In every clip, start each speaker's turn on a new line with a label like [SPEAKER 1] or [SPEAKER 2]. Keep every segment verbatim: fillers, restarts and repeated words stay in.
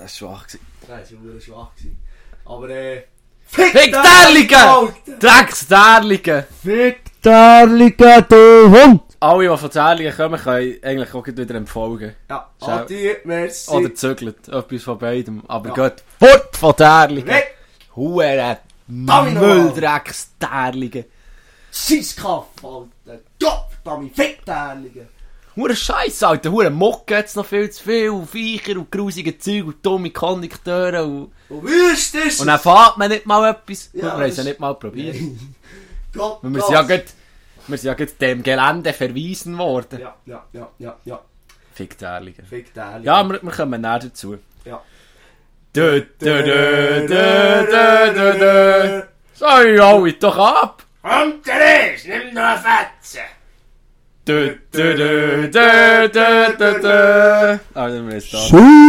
[SPEAKER 1] das war schwach.
[SPEAKER 2] Das war schwach. Aber äh...
[SPEAKER 1] Fick Derligen! Drecks Derligen!
[SPEAKER 2] Fick Derligen, du Hund!
[SPEAKER 1] Alle, die von Derligen kommen, können eigentlich auch wieder empfolgen.
[SPEAKER 2] Ja, Adi, merci.
[SPEAKER 1] Oder zögelt, etwas von beidem. Aber
[SPEAKER 2] ja.
[SPEAKER 1] geht fort von Derligen!
[SPEAKER 2] Weg!
[SPEAKER 1] Hure Mülldrecks Derligen!
[SPEAKER 2] Scheisskaff, Alter! Gott, Tommy, fick Derligen!
[SPEAKER 1] Hure Scheiße, Alter! Hure Mucke hat's noch viel zu viel. Und Viecher und grusige Zeug und dumme Kondukteure und...
[SPEAKER 2] Und wüst ist es!
[SPEAKER 1] Und dann fährt man nicht mal etwas.
[SPEAKER 2] Ja,
[SPEAKER 1] wir haben es ja nicht mal probiert.
[SPEAKER 2] Gott,
[SPEAKER 1] wir sind ja gerade... Wir sind ja gerade dem Gelände verwiesen worden.
[SPEAKER 2] Ja, ja, ja, ja, ja.
[SPEAKER 1] Fick Derligen.
[SPEAKER 2] Fick Derligen.
[SPEAKER 1] Ja, wir, wir kommen näher dazu.
[SPEAKER 2] Ja.
[SPEAKER 1] Dö, dö, dö, dö, dö, dö, dö. Sei alle doch ab!
[SPEAKER 2] Kommt der ist, nimm noch eine Fetze!
[SPEAKER 1] Dö, dö, dö, dö, dö, dö, dö. Ah, dann müssen wir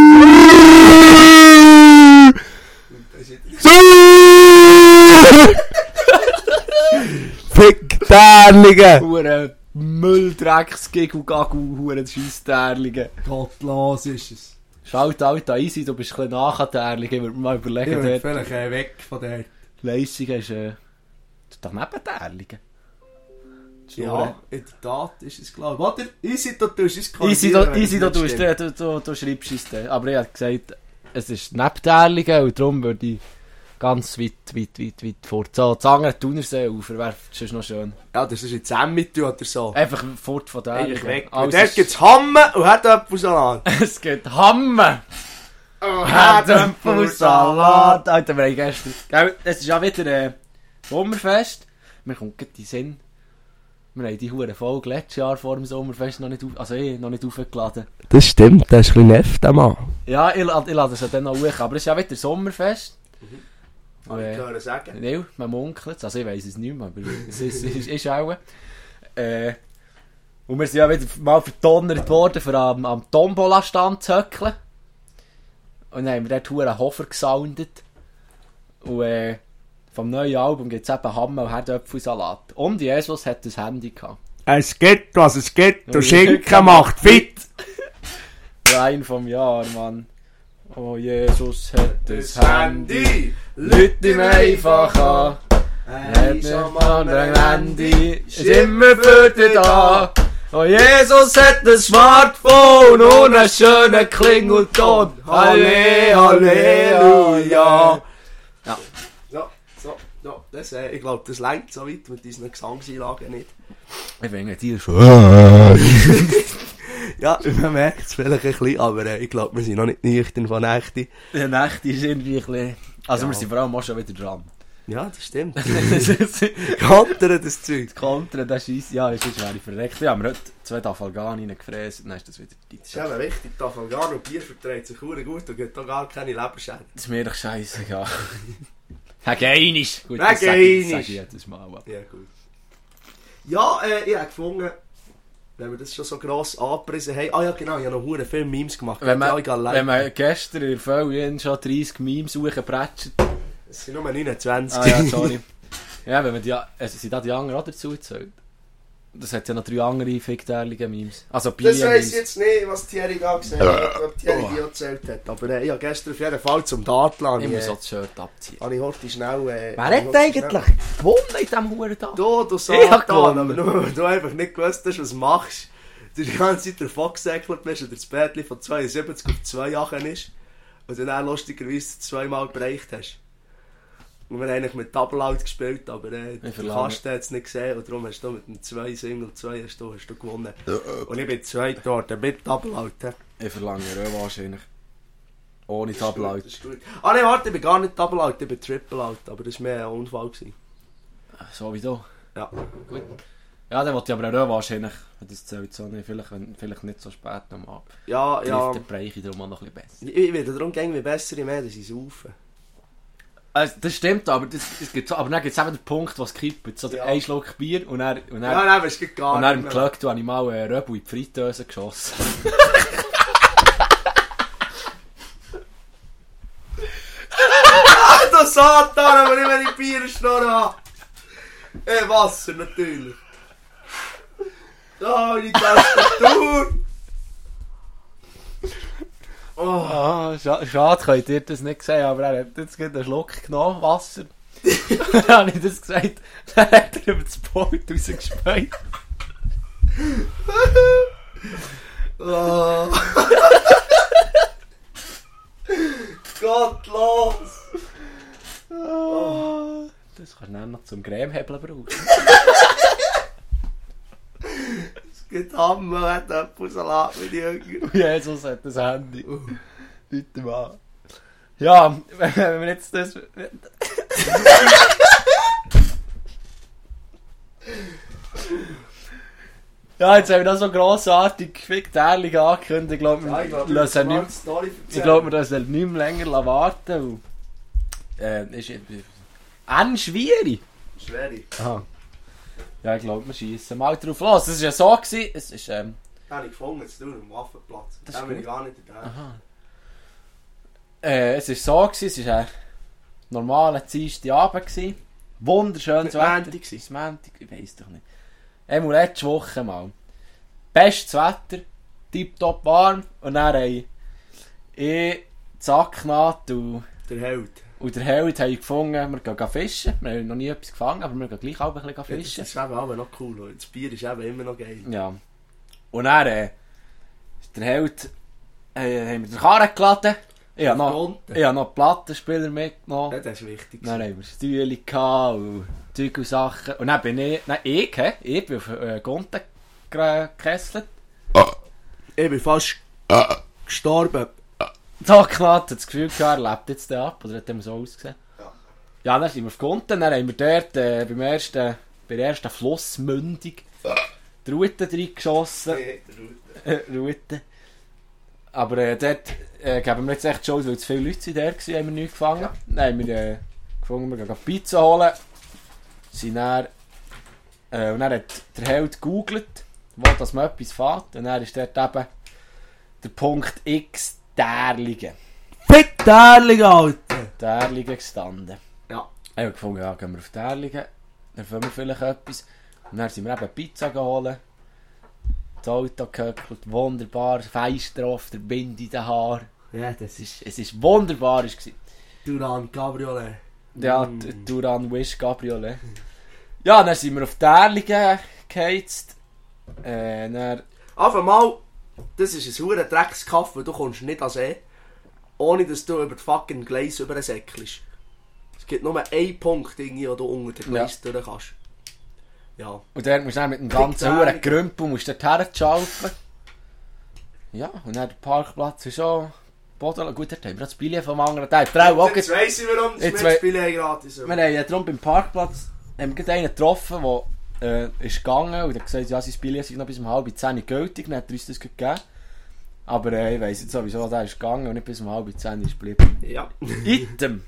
[SPEAKER 2] es Fick Derligen!
[SPEAKER 1] Hure Mülldrecks-Gigel-Gagel, hure Scheisse-Derligen.
[SPEAKER 2] Gottlos ist es.
[SPEAKER 1] Schaut alt an easy, du bist ein bisschen nach an Derligen. Ich würde mir mal überlegen,
[SPEAKER 2] Ich würde
[SPEAKER 1] dort...
[SPEAKER 2] vielleicht äh, weg von der...
[SPEAKER 1] Leissingen ist... Äh, das ist doch neben Derligen.
[SPEAKER 2] Ja, in der Tat ist es klar. Warte, easy, du tust es
[SPEAKER 1] Easy, du, easy, du, tust, du, du, du, du schreibst es dann. Aber ich habe gesagt, es ist neben Derligen und darum würde ich ganz weit, weit, weit, weit fort. So, das andere Thunersee ufer wäre sonst noch schön.
[SPEAKER 2] Ja, das ist jetzt Emmet oder so.
[SPEAKER 1] Einfach fort von Derligen.
[SPEAKER 2] Eigentlich weg.
[SPEAKER 1] Alles
[SPEAKER 2] Und dort gibt es Hamme und Herdöpfelsalat.
[SPEAKER 1] Es gibt Hamme!
[SPEAKER 2] Oh,
[SPEAKER 1] Herdöpfelsalat! Alter, wir haben gestern... Gell, es ist ja wieder äh, Sommerfest. Mir kommt gerade in den Sinn. Wir haben die hure Folge letztes Jahr vor dem Sommerfest noch nicht, auf, also eh, noch nicht aufgeladen.
[SPEAKER 2] Das stimmt, das ist ein bisschen nett, der Mann.
[SPEAKER 1] Ja, ich, ich lade es ja dann noch hoch. Aber es ist ja wieder Sommerfest.
[SPEAKER 2] Mhm. Kann ich hören sagen?
[SPEAKER 1] Nein, man munkelt es. Also ich weiss es nicht mehr, aber es ist, ist, ist auch. Äh, und wir sind ja wieder mal verdonnert worden, für am, am Tombola-Stand zu höckeln. Und dann haben wir dort hure Hofer gesoundet. Und äh, vom neuen Album gibt es eben Hamme und Herdöpfelsalat. Und Jesus hat ein Handy gehabt.
[SPEAKER 2] Es gibt, was es gibt, und Schinken macht fit.
[SPEAKER 1] Rein vom Jahr, Mann. Oh, Jesus hat ein
[SPEAKER 2] Das
[SPEAKER 1] Handy.
[SPEAKER 2] Handy,
[SPEAKER 1] Leute ihm einfach an. Er hat nicht mal ein Handy. Ist immer für dich da. Oh, Jesus hat ein Smartphone und einen schönen Klingelton. Halle, Halleluja. Ja.
[SPEAKER 2] So, so, so. Das, äh, ich glaube, das reicht so weit mit unseren Gesangseinlagen nicht.
[SPEAKER 1] Ich finde die schon.
[SPEAKER 2] Ja, man merkt es vielleicht ein bisschen, aber äh, ich glaube, wir sind noch nicht nüchtern von Nächte.
[SPEAKER 1] Die Nächte ist irgendwie ein bisschen... Also
[SPEAKER 2] Ja.
[SPEAKER 1] wir sind vor allem auch schon wieder dran.
[SPEAKER 2] Ja, das stimmt.
[SPEAKER 1] Das
[SPEAKER 2] Kantern, das Zeug.
[SPEAKER 1] Kontern, das ist... Ja, das ist wäre ich verreckt. Ja, wir haben heute zwei Tafalgan reingefräst und dann ist das wieder...
[SPEAKER 2] Das ist eben wichtig, die Afghaner und Bier verträgt sich verdammt gut und gibt auch gar keine Leberschäden.
[SPEAKER 1] Das ist mir doch scheißegal. Hag einisch. Gut,
[SPEAKER 2] Hag
[SPEAKER 1] das sag ich, das
[SPEAKER 2] einisch.
[SPEAKER 1] sag ich jedes Mal. Aber.
[SPEAKER 2] Ja, gut. Ja, äh, ich habe gefunden, wenn wir das schon so gross angepriesen haben... Ah ja, genau, ich habe noch verdammt viele Memes gemacht.
[SPEAKER 1] Wenn man,
[SPEAKER 2] ja,
[SPEAKER 1] wenn man gestern in der Folge schon dreißig Memes hochgebretscht...
[SPEAKER 2] Es sind nur neunundzwanzig.
[SPEAKER 1] Ah ja, sorry. Ja, wenn man die... Also sind da die anderen auch dazu gezählt? Das hat ja noch drei andere ficktälige Memes. Also
[SPEAKER 2] Das weiss
[SPEAKER 1] Bier-Memes.
[SPEAKER 2] ich jetzt nicht, was Thierry da gesagt hat, ob Thierry die auch gezählt hat. Aber äh, ich habe gestern auf jeden Fall zum Dartland.
[SPEAKER 1] Ich muss
[SPEAKER 2] äh,
[SPEAKER 1] auch das Shirt abziehen.
[SPEAKER 2] habe ich heute schnell... Äh,
[SPEAKER 1] Wer
[SPEAKER 2] habe ich
[SPEAKER 1] hat
[SPEAKER 2] heute
[SPEAKER 1] eigentlich
[SPEAKER 2] schnell-
[SPEAKER 1] gewonnen in diesem Huren-Tag?
[SPEAKER 2] Du, du
[SPEAKER 1] Ich hab
[SPEAKER 2] Satan,
[SPEAKER 1] gewonnen.
[SPEAKER 2] aber nur weil du einfach nicht gewusst hast, was du machst. Du die ganze Zeit davon gesäckelt bist und das Bärtchen von zweiundsiebzig auf zwei Jahren ist und du dann lustigerweise zweimal bereicht hast. Und wir haben eigentlich mit Double Out gespielt, aber äh, der
[SPEAKER 1] verlange-
[SPEAKER 2] Kasten hat es nicht gesehen und darum hast du mit dem zwei Single zwei hast du, hast du gewonnen. Und ich bin zweit dort mit Double Out. He.
[SPEAKER 1] Ich verlange Röwe wahrscheinlich. Ohne Tablau.
[SPEAKER 2] Das ist gut. Ah nein, warte, ich bin gar nicht Double Out, ich bin Triple Out, aber das war mehr ein Unfall gewesen.
[SPEAKER 1] So wie du.
[SPEAKER 2] Ja.
[SPEAKER 1] Gut. Ja, dann wollte ich aber Röwe wahrscheinlich. Das zählt so nicht. Vielleicht, wenn, vielleicht nicht so spät nochmal.
[SPEAKER 2] Ja, ja.
[SPEAKER 1] Dann breche ich darum auch noch ein bisschen besser.
[SPEAKER 2] Ich, ich werde darum gehen, wie besser ich mehr, dass ich saufe.
[SPEAKER 1] Also, das stimmt, aber, das, das gibt so, aber dann gibt es eben den Punkt, wo es kippt. So
[SPEAKER 2] Ja.
[SPEAKER 1] ein Schluck Bier und dann, und dann,
[SPEAKER 2] Ja, nein, es geht gar
[SPEAKER 1] und dann
[SPEAKER 2] nicht
[SPEAKER 1] im
[SPEAKER 2] mehr.
[SPEAKER 1] Glöck habe ich mal einen Röbel in die Fritteuse geschossen.
[SPEAKER 2] Du Satan, aber nicht, wenn ich Bierschnurren habe. Äh, Wasser natürlich. Da, meine Tastatur. Oh.
[SPEAKER 1] Ah, scha schade, könnt ihr das nicht sehen, aber er hat jetzt gerade einen Schluck genommen, Wasser. Dann habe ich das gesagt, dann hat er über das Boot rausgespeut.
[SPEAKER 2] Oh. Gottlos!
[SPEAKER 1] Oh. Das kannst du dann noch zum Cremehebeln brauchen.
[SPEAKER 2] Es gibt Hammer, hat Apfelsalat mit Jünger.
[SPEAKER 1] Jesus hat das Handy. Bitte mal. Ja, wenn wir jetzt das... Ja, jetzt haben wir das so grossartig ficktärlich angekündigt. Ich glaube,
[SPEAKER 2] Ja, ich
[SPEAKER 1] wir
[SPEAKER 2] glaube,
[SPEAKER 1] lassen
[SPEAKER 2] wir
[SPEAKER 1] nicht,
[SPEAKER 2] Story
[SPEAKER 1] ich glaube, wir lassen nicht mehr länger warten. Weil, äh, ist äh, schwierig.
[SPEAKER 2] Schwierig.
[SPEAKER 1] Aha. Ja, ich glaube, wir schießen mal drauf los. Es war ja so, gewesen, es ist, ähm...
[SPEAKER 2] Den habe ich gefunden, jetzt tun am Waffenplatz.
[SPEAKER 1] Das
[SPEAKER 2] Den
[SPEAKER 1] ist
[SPEAKER 2] bin ich
[SPEAKER 1] gut.
[SPEAKER 2] gar nicht da.
[SPEAKER 1] Aha. Äh, es war so, gewesen, es war ein normaler Dienstagabend. gewesen. Wunderschönes
[SPEAKER 2] Nicht
[SPEAKER 1] Wetter.
[SPEAKER 2] Montag gewesen?
[SPEAKER 1] Es war Montag, ich weiss doch nicht. Einmal letzte Woche mal. Bestes Wetter, tipptopp warm. Und dann haben ich, Zacknaht und,
[SPEAKER 2] Der Held.
[SPEAKER 1] und der Held haben gefunden, wir gehen fischen. Wir haben noch nie etwas gefangen, aber wir gehen gleich auch ein bisschen
[SPEAKER 2] Ja, das
[SPEAKER 1] fischen.
[SPEAKER 2] ist eben auch noch cool. Oder? Das Bier ist eben immer noch geil.
[SPEAKER 1] Ja. Und dann äh, der Held äh, haben wir den Karren geladen. Ich habe noch, ich habe noch Plattenspieler mitgenommen.
[SPEAKER 2] Ja, das ist wichtig.
[SPEAKER 1] Dann haben wir Stühle gehabt und Zeug und Sachen. Und dann bin ich, nein, ich, he, ich bin auf äh, Gonten gekesselt.
[SPEAKER 2] Ich bin fast gestorben.
[SPEAKER 1] Da knatt das Gefühl gehabt, er lebt jetzt da ab, oder hat er so ausgesehen?
[SPEAKER 2] Ja.
[SPEAKER 1] Ja, dann sind wir auf Gonten, dann haben wir dort äh, beim ersten, bei der ersten Flussmündung die Route reingeschossen. Äh, Route. Aber äh, dort äh, geben wir jetzt echt schon, weil zu viele Leute sind da waren, haben wir nichts gefangen.
[SPEAKER 2] Ja.
[SPEAKER 1] Dann haben wir äh, gefunden, wir gehen Pizza holen. Sind dann, äh, und dann hat der Held gegoogelt, wo dass man etwas fährt. Und dann ist dort eben der Punkt X Därligen.
[SPEAKER 2] Fick Därligen, Alter!
[SPEAKER 1] Därligen gestanden.
[SPEAKER 2] Ja.
[SPEAKER 1] Ich habe gefunden, ja, gehen wir auf Därligen, dann finden wir vielleicht etwas. Und dann sind wir eben Pizza geholt. Das Auto gehöckelt, wunderbar, Feister auf der Binde in den Haaren.
[SPEAKER 2] Ja, das
[SPEAKER 1] Es
[SPEAKER 2] ist
[SPEAKER 1] ist, es ist wunderbar. Es war.
[SPEAKER 2] Duran Cabriolet.
[SPEAKER 1] Ja,
[SPEAKER 2] Mm.
[SPEAKER 1] die Duran Wish Cabriolet. Ja, dann sind wir auf Därligen geheizt. Äh, dann...
[SPEAKER 2] Einfach mal, das ist ein verdammter Dreckskaff, weil du kommst nicht an See, ohne dass du über die fucking Gleis übersäckelst. Es gibt nur einen Punkt, irgendwie, wo du unter den Gleis ja. durch kannst. Ja.
[SPEAKER 1] Und dort musst du dann mit dem ganzen Huren Grümpel musst du dort herschaufeln. Ja, und dann der Parkplatz ist schon Boden. Gut, dort haben wir das Billett vom anderen Teil.
[SPEAKER 2] Jetzt weiss ich, warum das
[SPEAKER 1] Jetzt
[SPEAKER 2] mit Spiele gratis ist.
[SPEAKER 1] Wir haben ja darum beim Parkplatz haben wir einen getroffen, der äh, ist gegangen und hat gesagt, ja, sein Billett ist noch bis um halb zehn gültig. Dann hat er uns das gegeben. Aber äh, ich weiss jetzt sowieso, der ist gegangen und nicht bis um halb zehn ist geblieben.
[SPEAKER 2] Ja.
[SPEAKER 1] Item!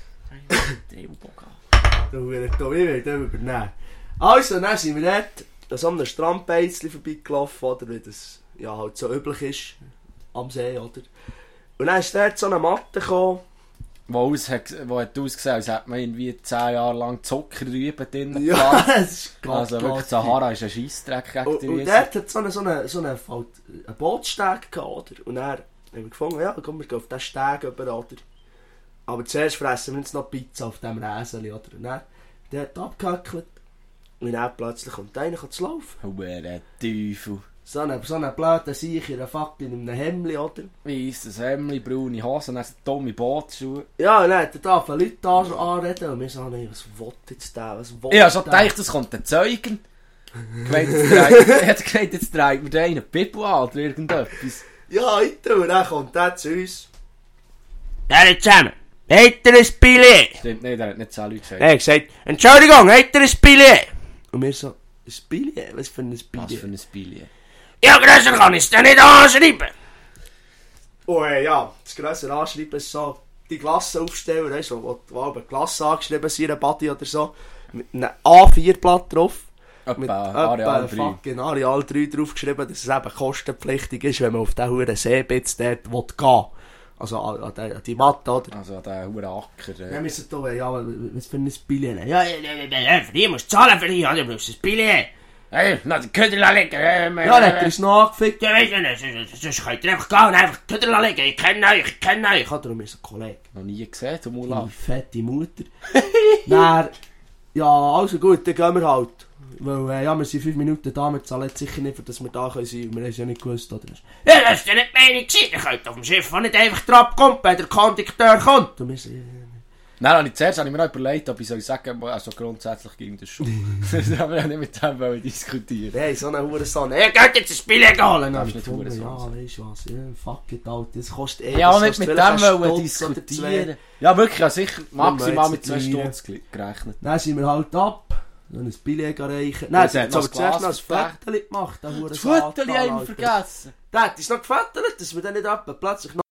[SPEAKER 2] Du willst da will ich übernehmen. Also, dann sind wir dort an so einem Strandbeizchen vorbeigelaufen, oder wie das ja, halt so üblich ist am See, oder? Und dann ist dort so eine Matte gekommen.
[SPEAKER 1] Wo, aus, wo hat ausgesehen, als hätte man irgendwie zehn Jahre lang Zuckerrüben drin
[SPEAKER 2] Ja,
[SPEAKER 1] gepflanzt.
[SPEAKER 2] das ist ganz
[SPEAKER 1] Also wirklich, Sahara ist ein Scheissdreck gegen
[SPEAKER 2] Und,
[SPEAKER 1] die
[SPEAKER 2] und
[SPEAKER 1] Wiese.
[SPEAKER 2] dort hat so einen so eine, so eine, halt, einen Bootssteg gehabt, oder? Und dann haben wir gefunden, ja, komm, wir gehen auf diesen Steg rüber, oder? Aber zuerst fressen wir jetzt noch Pizza auf diesem Räseli, oder? Und dann der hat abgehackelt. Und dann plötzlich kommt einer zu laufen.
[SPEAKER 1] Huere Teufel.
[SPEAKER 2] So ein so eine blöde Sicher in einer fucking in einem Hemdli, oder?
[SPEAKER 1] Weisses Hemdli, braune Hosen, dann so dumme Bootschuhe.
[SPEAKER 2] Ja, und dann hat er da von Leuten da schon anreden und wir sagen, nee, was will jetzt der, was will
[SPEAKER 1] Ich habe schon
[SPEAKER 2] der?
[SPEAKER 1] gedacht, das kommt ein Zeugen. Gemeint, jetzt dreht- Er hat gesagt, jetzt dreht mir der einen Pipo an oder irgendetwas.
[SPEAKER 2] Ja, heute, und dann kommt der zu uns.
[SPEAKER 3] Ja, nicht zusammen. Habt ihr ein Billett?
[SPEAKER 1] Stimmt nicht, er hat nicht zehn Leute gesagt.
[SPEAKER 3] Er hat gesagt, Entschuldigung, habt ihr ein Billett?
[SPEAKER 2] Und wir so, ein Billett? Was für ein
[SPEAKER 1] Was
[SPEAKER 2] Billett?
[SPEAKER 1] für ein Billett.
[SPEAKER 3] Ja, grösser kann ich es dir nicht anschreiben.
[SPEAKER 2] Oh äh, ja, das grössere Anschreiben ist so, die Klasse aufstellen, weißt du, wo, wo eine Klasse angeschrieben ist, in einer Body oder so, mit einem A vier Blatt drauf. Mit
[SPEAKER 1] Etwa Areal drei.
[SPEAKER 2] fucking Areal drei draufgeschrieben, dass es eben kostenpflichtig ist, wenn man auf diesen huren Seebitz dort gehen will. Also an, an, die, an die Matte, oder?
[SPEAKER 1] Also der hure Acker.
[SPEAKER 2] Wir
[SPEAKER 1] Äh.
[SPEAKER 2] müssen da, ja, was für ein Billett nehmen?
[SPEAKER 3] Ja, ja, ja, ja, für die musst du zahlen für die, ja, du brauchst ein Billett. Hey, lass den Köder liegen. Ähm,
[SPEAKER 2] Ja, dann hat er uns noch angefickt.
[SPEAKER 3] Ja, weißt du nicht, sonst könnt ihr einfach gehen und einfach den Köder liegen. Ich kenne euch, ich kenne euch.
[SPEAKER 2] Ich hatte darum so einen Kollegen.
[SPEAKER 1] Noch nie gesehen, zum
[SPEAKER 2] Meine
[SPEAKER 1] Urlaub.
[SPEAKER 2] fette Mutter. Dann, ja, also gut, dann gehen wir halt. Weil, äh, ja, wir sind fünf Minuten da, wir zahlen jetzt sicher nicht, dass wir da sein können. Wir haben es ja nicht gewusst, oder?
[SPEAKER 3] Ja, das ist ja nicht die Meinung gewesen. Ihr könnt auf dem Schiff auch nicht einfach drauf kommen, wenn der Kondukteur kommt.
[SPEAKER 2] Und wir so, ja,
[SPEAKER 1] Nein, habe ich zuerst habe ich mir noch überlegt, ob ich soll sagen, also grundsätzlich ging das schon. Das haben wir ja nicht mit dem wollen diskutieren.
[SPEAKER 2] hey, so eine Hurensohn.
[SPEAKER 3] Ihr könnt jetzt ein Spiel holen.
[SPEAKER 2] Dann
[SPEAKER 1] darfst
[SPEAKER 2] ich
[SPEAKER 1] nicht
[SPEAKER 2] gefunden,
[SPEAKER 1] Hurensohn
[SPEAKER 2] ja,
[SPEAKER 1] sagen.
[SPEAKER 2] weißt du was, ja, fuck it, Alter, das kostet eh...
[SPEAKER 1] Ja, auch
[SPEAKER 2] das
[SPEAKER 1] nicht mit
[SPEAKER 2] kostet
[SPEAKER 1] dem
[SPEAKER 2] vielleicht
[SPEAKER 1] wollen
[SPEAKER 2] einen Stutz oder
[SPEAKER 1] diskutieren.
[SPEAKER 2] zwei.
[SPEAKER 1] Ja, wirklich, also sicher maximal
[SPEAKER 2] jetzt
[SPEAKER 1] mit zwei
[SPEAKER 2] nicht rein.
[SPEAKER 1] Stunden gerechnet.
[SPEAKER 2] Dann sind wir halt ab, dann ein Billett reichen.
[SPEAKER 1] Ja,
[SPEAKER 2] Nein,
[SPEAKER 1] sie
[SPEAKER 2] sie
[SPEAKER 1] hat
[SPEAKER 2] hat
[SPEAKER 1] noch
[SPEAKER 2] aber
[SPEAKER 1] das
[SPEAKER 2] zuerst
[SPEAKER 1] Glas
[SPEAKER 2] noch ein
[SPEAKER 1] verpackt.
[SPEAKER 2] Foto gemacht, der
[SPEAKER 1] Das
[SPEAKER 2] Hurensohn.
[SPEAKER 1] Foto haben wir vergessen.
[SPEAKER 2] Der hat uns noch gefettelt, dass wir dann nicht etwa plötzlich noch...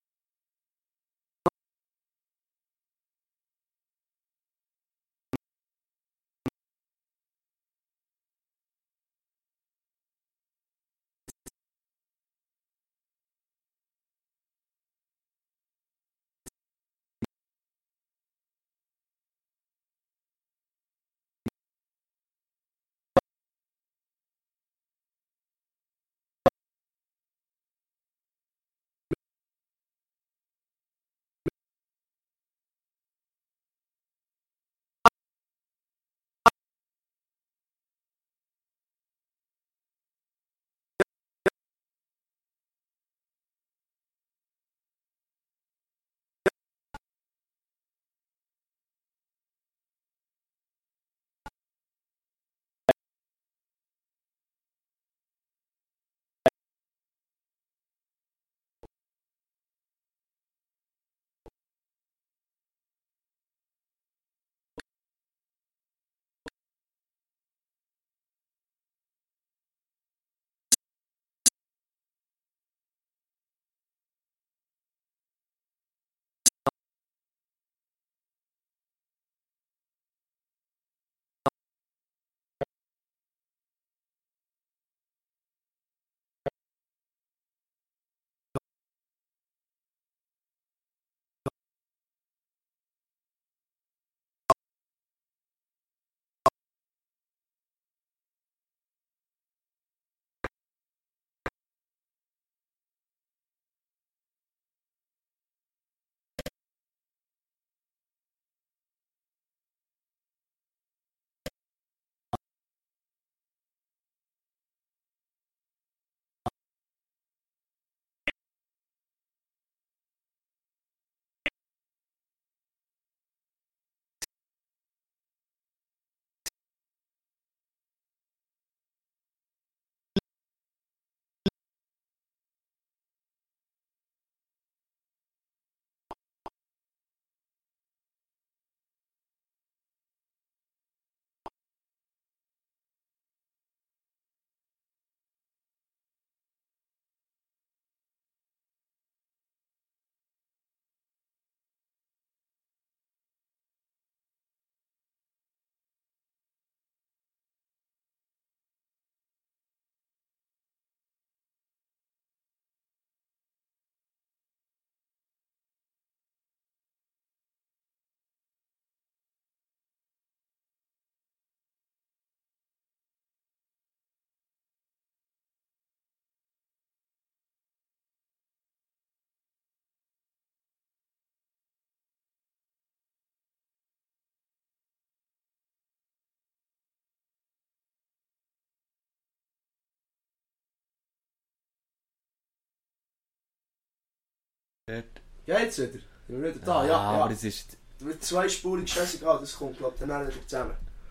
[SPEAKER 2] Ja, jetzt wieder. Sind wir wieder da? Ja,
[SPEAKER 1] Ah,
[SPEAKER 2] ja.
[SPEAKER 1] aber es ist...
[SPEAKER 2] Mit zweispurig scheißegal, das kommt, glaube ich, dann wieder zusammen.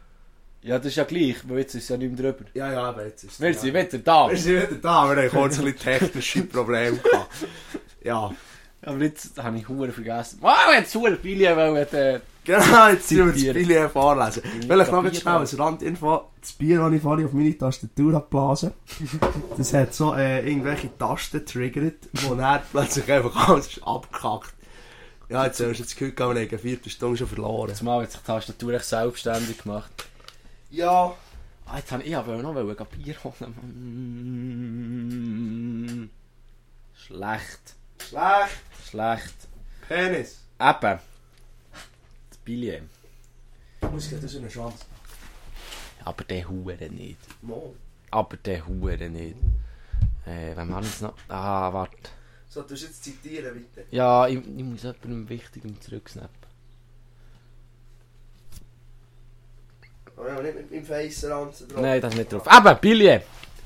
[SPEAKER 1] Ja, das ist ja gleich, weil jetzt ist es ja nicht mehr drüber.
[SPEAKER 2] Ja, ja, aber jetzt ist es...
[SPEAKER 1] Wir
[SPEAKER 2] ja.
[SPEAKER 1] sind wieder da.
[SPEAKER 2] Wir sind wieder da, wir haben kurz ein bisschen technische Probleme gehabt. Ja.
[SPEAKER 1] Aber jetzt habe ich Huren vergessen. Wow, jetzt Huren Billy wollen äh,
[SPEAKER 2] Genau, jetzt müssen wir das
[SPEAKER 1] zitieren.
[SPEAKER 2] Billy vorlesen. Vielleicht noch
[SPEAKER 1] Bier
[SPEAKER 2] ganz schnell als Randinfo. Das Bier, das ich vorhin auf meine Tastatur habe geblasen, das hat so äh, irgendwelche Tasten getriggert, wo dann plötzlich einfach alles ist abgekackt. Ja, jetzt hast du das Gefühl gehabt, wir haben eine Viertelstunde schon verloren.
[SPEAKER 1] Jetzt mal hat sich die Tastatur echt selbstständig gemacht.
[SPEAKER 2] Ja.
[SPEAKER 1] Ah, jetzt habe ich, ich wollte noch wollen, gehen Bier holen. Schlecht.
[SPEAKER 2] Schlecht.
[SPEAKER 1] Schlecht.
[SPEAKER 2] Penis.
[SPEAKER 1] Eben. Das Billy.
[SPEAKER 2] Ich muss gerade so eine Chance.
[SPEAKER 1] Ja, Aber der Hure nicht.
[SPEAKER 2] Mo.
[SPEAKER 1] Aber der Hure nicht. Äh, wenn man jetzt noch... Ah, warte.
[SPEAKER 2] So, du musst jetzt zitieren, bitte.
[SPEAKER 1] Ja, ich, ich muss jemandem Wichtigem zurücksnappen.
[SPEAKER 2] Aber ja, nicht mit meinem Face-Ranzen drauf.
[SPEAKER 1] Nein, das ist nicht drauf. Eben, Billy!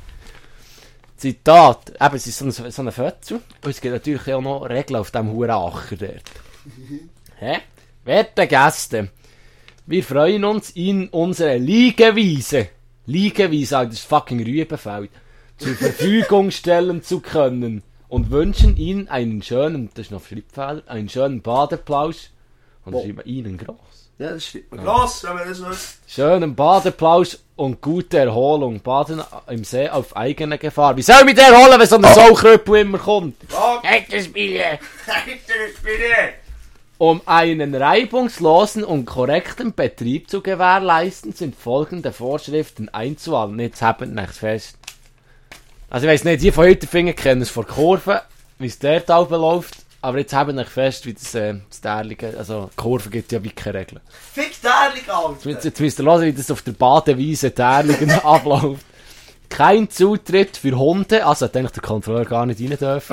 [SPEAKER 1] Zitat. Eben, es ist so ein, so ein Fötzel. Und es gibt natürlich auch noch Regeln auf diesem Huracher dort. Hä? Werte Gäste, wir freuen uns, Ihnen unsere Liegewiese, Liegewiese, also das fucking Rübenfeld, zur Verfügung stellen zu können und wünschen Ihnen einen schönen, das ist noch Schreibfehler, einen schönen Badeplausch. Und
[SPEAKER 2] Wo?
[SPEAKER 1] schreiben wir Ihnen gross.
[SPEAKER 2] Ja, das stimmt. Gross, wenn man das weiß.
[SPEAKER 1] Schönen Badeplausch und gute Erholung. Baden im See auf eigene Gefahr. Wie soll ich mich da erholen, wenn so ein Saukröpel immer kommt?
[SPEAKER 2] Frage.
[SPEAKER 3] Hey, das Billy.
[SPEAKER 2] Alter, bitte.
[SPEAKER 1] Um einen reibungslosen und korrekten Betrieb zu gewährleisten, sind folgende Vorschriften einzuhalten. Jetzt haben wir nichts fest. Also ich weiss nicht, die von Hütterfingen kennen es von Kurven, wie es dort oben läuft. Aber jetzt haben wir nicht fest, wie das, äh, das Därlige, also Kurven gibt ja wie keine Regeln.
[SPEAKER 2] Fick Därling,
[SPEAKER 1] Jetzt,
[SPEAKER 2] Alter.
[SPEAKER 1] jetzt müsst ihr hören, wie das auf der Badewiese Därligen abläuft. Kein Zutritt für Hunde, also hat eigentlich der Kontrolleur gar nicht rein dürfen.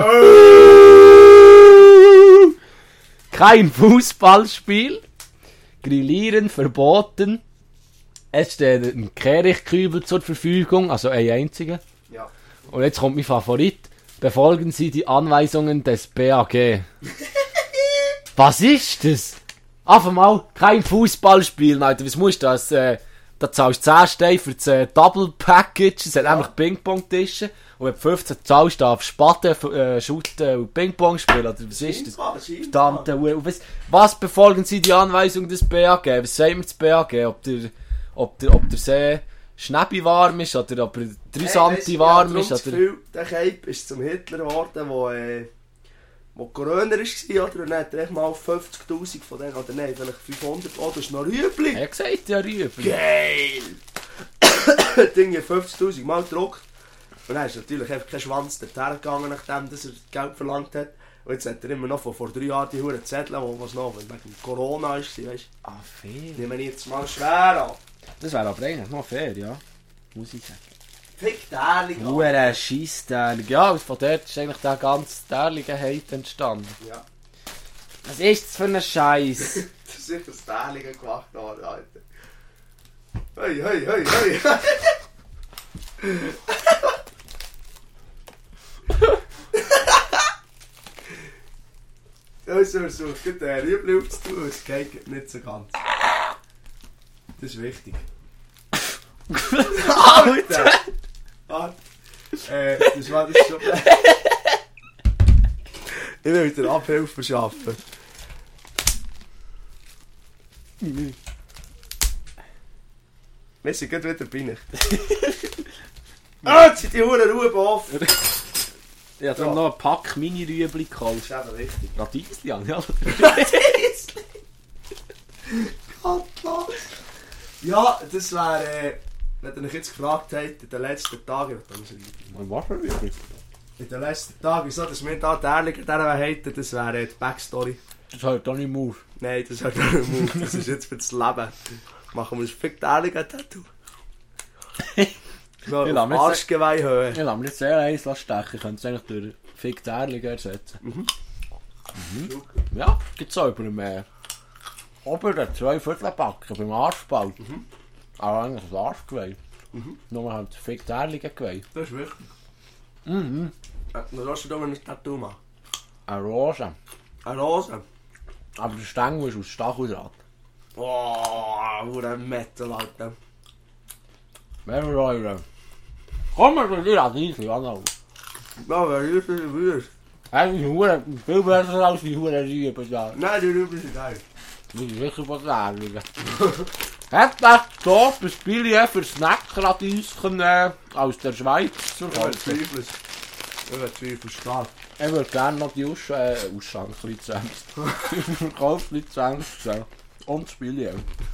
[SPEAKER 1] Kein Fußballspiel. Grillieren verboten. Es steht ein Kehrichtkübel zur Verfügung, also ein einziger.
[SPEAKER 2] Ja.
[SPEAKER 1] Und jetzt kommt mein Favorit. Befolgen Sie die Anweisungen des B A G. Was ist das? Auf einmal kein Fußballspiel, Alter. Was musst du das? Äh, da zahlst du zehn Steine für das äh, Double Package. Es hat nämlich Ping-Pong-Tische. Und wenn du fünfzehn zahlst, darfst du Spaten, äh, shooten und Ping-Pong spielen. Oder was ist das? Verdammte Hure. Was, was befolgen Sie die Anweisung des B A G? Was sagen wir das B A G? Ob der, ob der, ob der See Schnäppi warm ist oder ob er drei Santi warm ist?
[SPEAKER 2] Ich habe das
[SPEAKER 1] Oder...
[SPEAKER 2] Gefühl, der Cape ist zum Hitler geworden, wo, äh, wo Corona war, oder? Und dann hat er echt mal fünfzigtausend von denen, oder nein, vielleicht fünfhundert, oh, das ist noch Rüebli.
[SPEAKER 1] Er hat gesagt, ja, Rüebli.
[SPEAKER 2] Geil! Dinge fünfzigtausend Mal gedruckt. Und dann ist natürlich einfach kein Schwanz dorthin gegangen, nachdem dass er Geld verlangt hat. Und jetzt hat er immer noch von vor drei Jahren die Huren Zettel, wo was noch wegen Corona war, weißt du.
[SPEAKER 1] Ah, fair.
[SPEAKER 2] Nehmen wir jetzt mal schwer an.
[SPEAKER 1] Das wäre aber eigentlich noch fair, ja. Muss ich sagen.
[SPEAKER 2] Fick Därling an.
[SPEAKER 1] Hure Scheissdärlig. Ja, von dort ist eigentlich der ganze därlige Hate entstanden.
[SPEAKER 2] Ja.
[SPEAKER 1] Was ist das für ein Scheiß?
[SPEAKER 2] Das ist sicher das Därling gemacht worden, Alter. Hey, hey, hey, hey. Ja, ich versuche den Rüebli aufzutun, es geht nicht so ganz. Das ist wichtig. Alter! Ah, äh, das war das schon. Ich will wieder Abhilfe verschaffen. Wir sind gerade wieder bei nicht. Ah, jetzt sind die Huren Ruhe offen.
[SPEAKER 1] Ich habe darum noch einen Pack Mini-Rüebli gekauft.
[SPEAKER 2] Das ist eben wichtig.
[SPEAKER 1] Radieschen, ja.
[SPEAKER 2] Gottlos. Ja, das wäre, äh, wenn ihr euch jetzt gefragt habt, in den letzten Tagen,
[SPEAKER 1] Was für Rüebli?
[SPEAKER 2] in den letzten Tagen, so, dass wir da die Ehrliche daran hätten, das wäre äh, die Backstory.
[SPEAKER 1] Das hört doch nicht mehr auf.
[SPEAKER 2] Nein, das hat auch nicht Move, das ist jetzt für das Leben. Machen wir das fick die Ehrliche Tattoo.
[SPEAKER 1] Ich
[SPEAKER 2] Noch
[SPEAKER 1] lass
[SPEAKER 2] auf
[SPEAKER 1] mir jetzt-
[SPEAKER 2] Arschgeweih hören.
[SPEAKER 1] Ich lasse mir jetzt sehr eins stechen. Ich könnte es eigentlich durch Fick Därlig ersetzen. Mhm. Ja, gibt es auch über dem äh, oberen zwei Viertelbacken beim Arschspalt. Mhm. Aber eigentlich das Arschgeweih. Mhm. Nur halt Fick Därlig Geweih.
[SPEAKER 2] Das ist wichtig.
[SPEAKER 1] Mhm.
[SPEAKER 2] Äh, Dann hast du da mal ein Tattoo machen.
[SPEAKER 1] Eine Rose.
[SPEAKER 2] Eine Rose.
[SPEAKER 1] Aber der Stängel ist aus Stacheldraht.
[SPEAKER 2] Boah, wo ein Metal, Alter.
[SPEAKER 1] Wer will eure? Komm mal zu dir, Radieschen, Anna.
[SPEAKER 2] Ja, wer ist das Wurst?
[SPEAKER 1] Es ist hure- viel besser als die Hure Rüben da.
[SPEAKER 2] Nein, die Rüben sind geil.
[SPEAKER 1] Das ist sicher von Därligen. Hat das so ein Billy für Snackradieschen äh, aus der Schweiz zu
[SPEAKER 2] Ich
[SPEAKER 1] kaufen?
[SPEAKER 2] bezweifle es. Ich bezweifle es stark.
[SPEAKER 1] Ich würde gerne noch die Aus äh, Ausschank-Lizenz. Die Verkaufslizenz sehen. Und das Billy.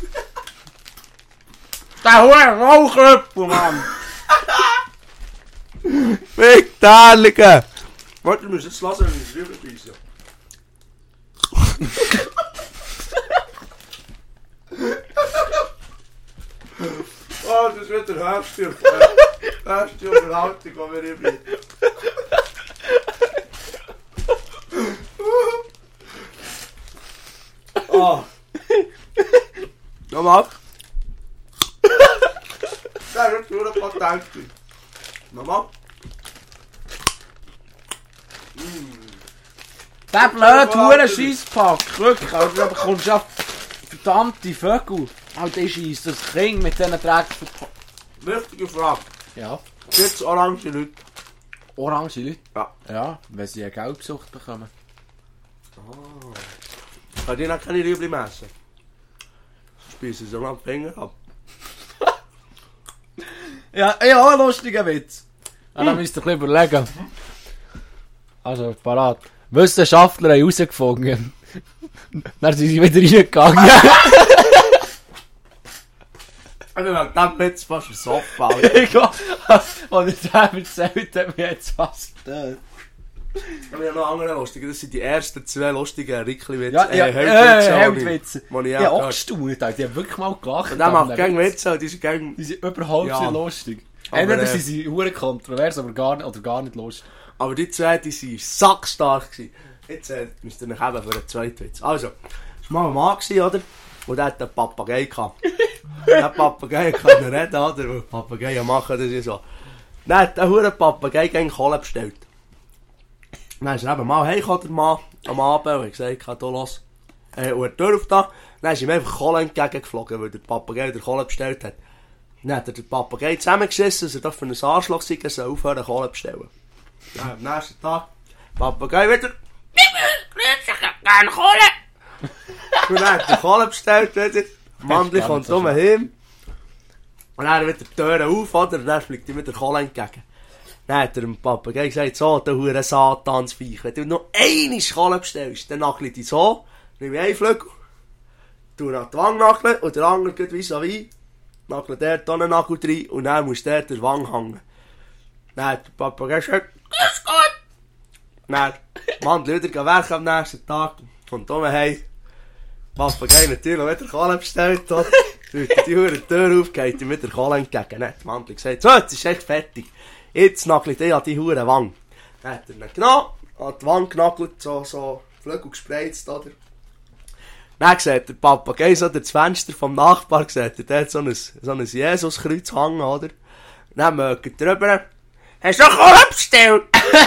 [SPEAKER 1] Der Hure Rauchrüppel, Mann!
[SPEAKER 2] Fick die Ehrliche! Warte, du musst jetzt lassen, wenn ich es rüber beiße. Oh, das ist wieder Hälfte. Hälfte Unterhaltung, die wir übrigens. Oh. Nochmal. Das ist nur ein Patent. Nochmal.
[SPEAKER 1] Der blöde Huren-Scheisspack, wirklich, also, da bekommst du ja verdammte Vögel. Alter, ich scheiss das Kind mit diesen Drecksverpackungen.
[SPEAKER 2] Wichtige Frage.
[SPEAKER 1] Ja.
[SPEAKER 2] Gibt's orange Leute?
[SPEAKER 1] Orange Leute?
[SPEAKER 2] Ja.
[SPEAKER 1] Ja, wenn sie eine Gelbsucht bekommen.
[SPEAKER 2] Ah. Kann die noch keine Rüebli messen? Speisen sie mal die Finger ab.
[SPEAKER 1] Ja, ja, ein lustiger Witz. Ja, da müsst ihr ein bisschen überlegen. Also, parat. Wissenschaftler haben herausgefunden. Dann sind sie wieder reingegangen.
[SPEAKER 2] Ich bin wegen dem Witz fast versoffen, Alter.
[SPEAKER 1] Ich glaube, als er das erzählt hat, mir jetzt fast getötet.
[SPEAKER 2] Ich habe noch andere lustige. Das sind die ersten zwei lustigen Rickli-Witze.
[SPEAKER 1] Ja, ja,
[SPEAKER 2] äh,
[SPEAKER 1] äh,
[SPEAKER 2] Heldwitze.
[SPEAKER 1] Heldwitze.
[SPEAKER 2] Die ich
[SPEAKER 1] Ja, auch
[SPEAKER 2] gehört.
[SPEAKER 1] gestaunt, Alter. Die haben wirklich mal gelacht.
[SPEAKER 2] Und der macht gerne Witze, die sind gerne...
[SPEAKER 1] Die sind überhaupt
[SPEAKER 2] Ja.
[SPEAKER 1] nicht lustig.
[SPEAKER 2] Aber,
[SPEAKER 1] Entweder
[SPEAKER 2] äh,
[SPEAKER 1] sind sie hure kontrovers, aber gar nicht, oder gar nicht lustig.
[SPEAKER 2] Aber die zwei, die waren sackstark gewesen. Jetzt äh, müsst ihr euch eben für einen zweiten Witz. Also, das war mal ein Mann gewesen, oder? Und der hat einen Papagei gehabt. Der Papagei kann nicht reden, oder? Weil Papageien machen das ja so. Dann hat der hure Papagei gegen Kohle bestellt. Dann ist er eben mal heimgekommen, der Mann, am Abend, und hat gesagt, du los. Äh, und er die Tür aufgetan. Dann ist ihm einfach Kohle entgegengeflogen, weil der Papagei der Kohle bestellt hat. Dann hat er den Papagei zusammengeschissen, dass er doch für einen Arschloch sei, er soll aufhören Kohle bestellen. Dann am nächsten Tag, Papagei wieder.
[SPEAKER 3] Grüß dich, ich hab gerne Kohle.
[SPEAKER 2] Und dann hat er Kohle bestellt wieder. Mandli
[SPEAKER 1] Gar
[SPEAKER 2] kommt
[SPEAKER 1] nicht so
[SPEAKER 2] um heim. Und dann wieder die Türen auf, oder? Und dann fliegt ihm wieder Kohle entgegen. Dann hat er dem Papagei gesagt, so, der hure Satansviech, wenn du noch einmal Kohle bestellst, dann nagle ich dich so, nehme ich einen Flügel, tu ihn an die Wange nageln, und der andere geht vis-à-vis, nagle der da einen Nagel rein, und dann muss der der Wange hängen. Dann hat der Papagei gesagt,
[SPEAKER 3] Grüß Gott.
[SPEAKER 2] dann, Mandli wieder werken am nächsten Tag, kommt um heim, Papagei natürlich wieder Kohle bestellt, oder? Tut die hure Tür auf, geht ihm wieder Kohle entgegen. Dann hat der Mandli gesagt, so, jetzt ist echt fertig. Jetzt nagelt er an die hure Wange. Dann hat er ihn genommen, an die Wange genagelt, so, so, Flügel gespreizt, oder? Dann sieht der Papagei so durch das Fenster vom Nachbar, sieht er dort so ein, so ein Jesuskreuz hängen, oder? Dann mögt er drüber,
[SPEAKER 3] Hast du Kohle bestellt?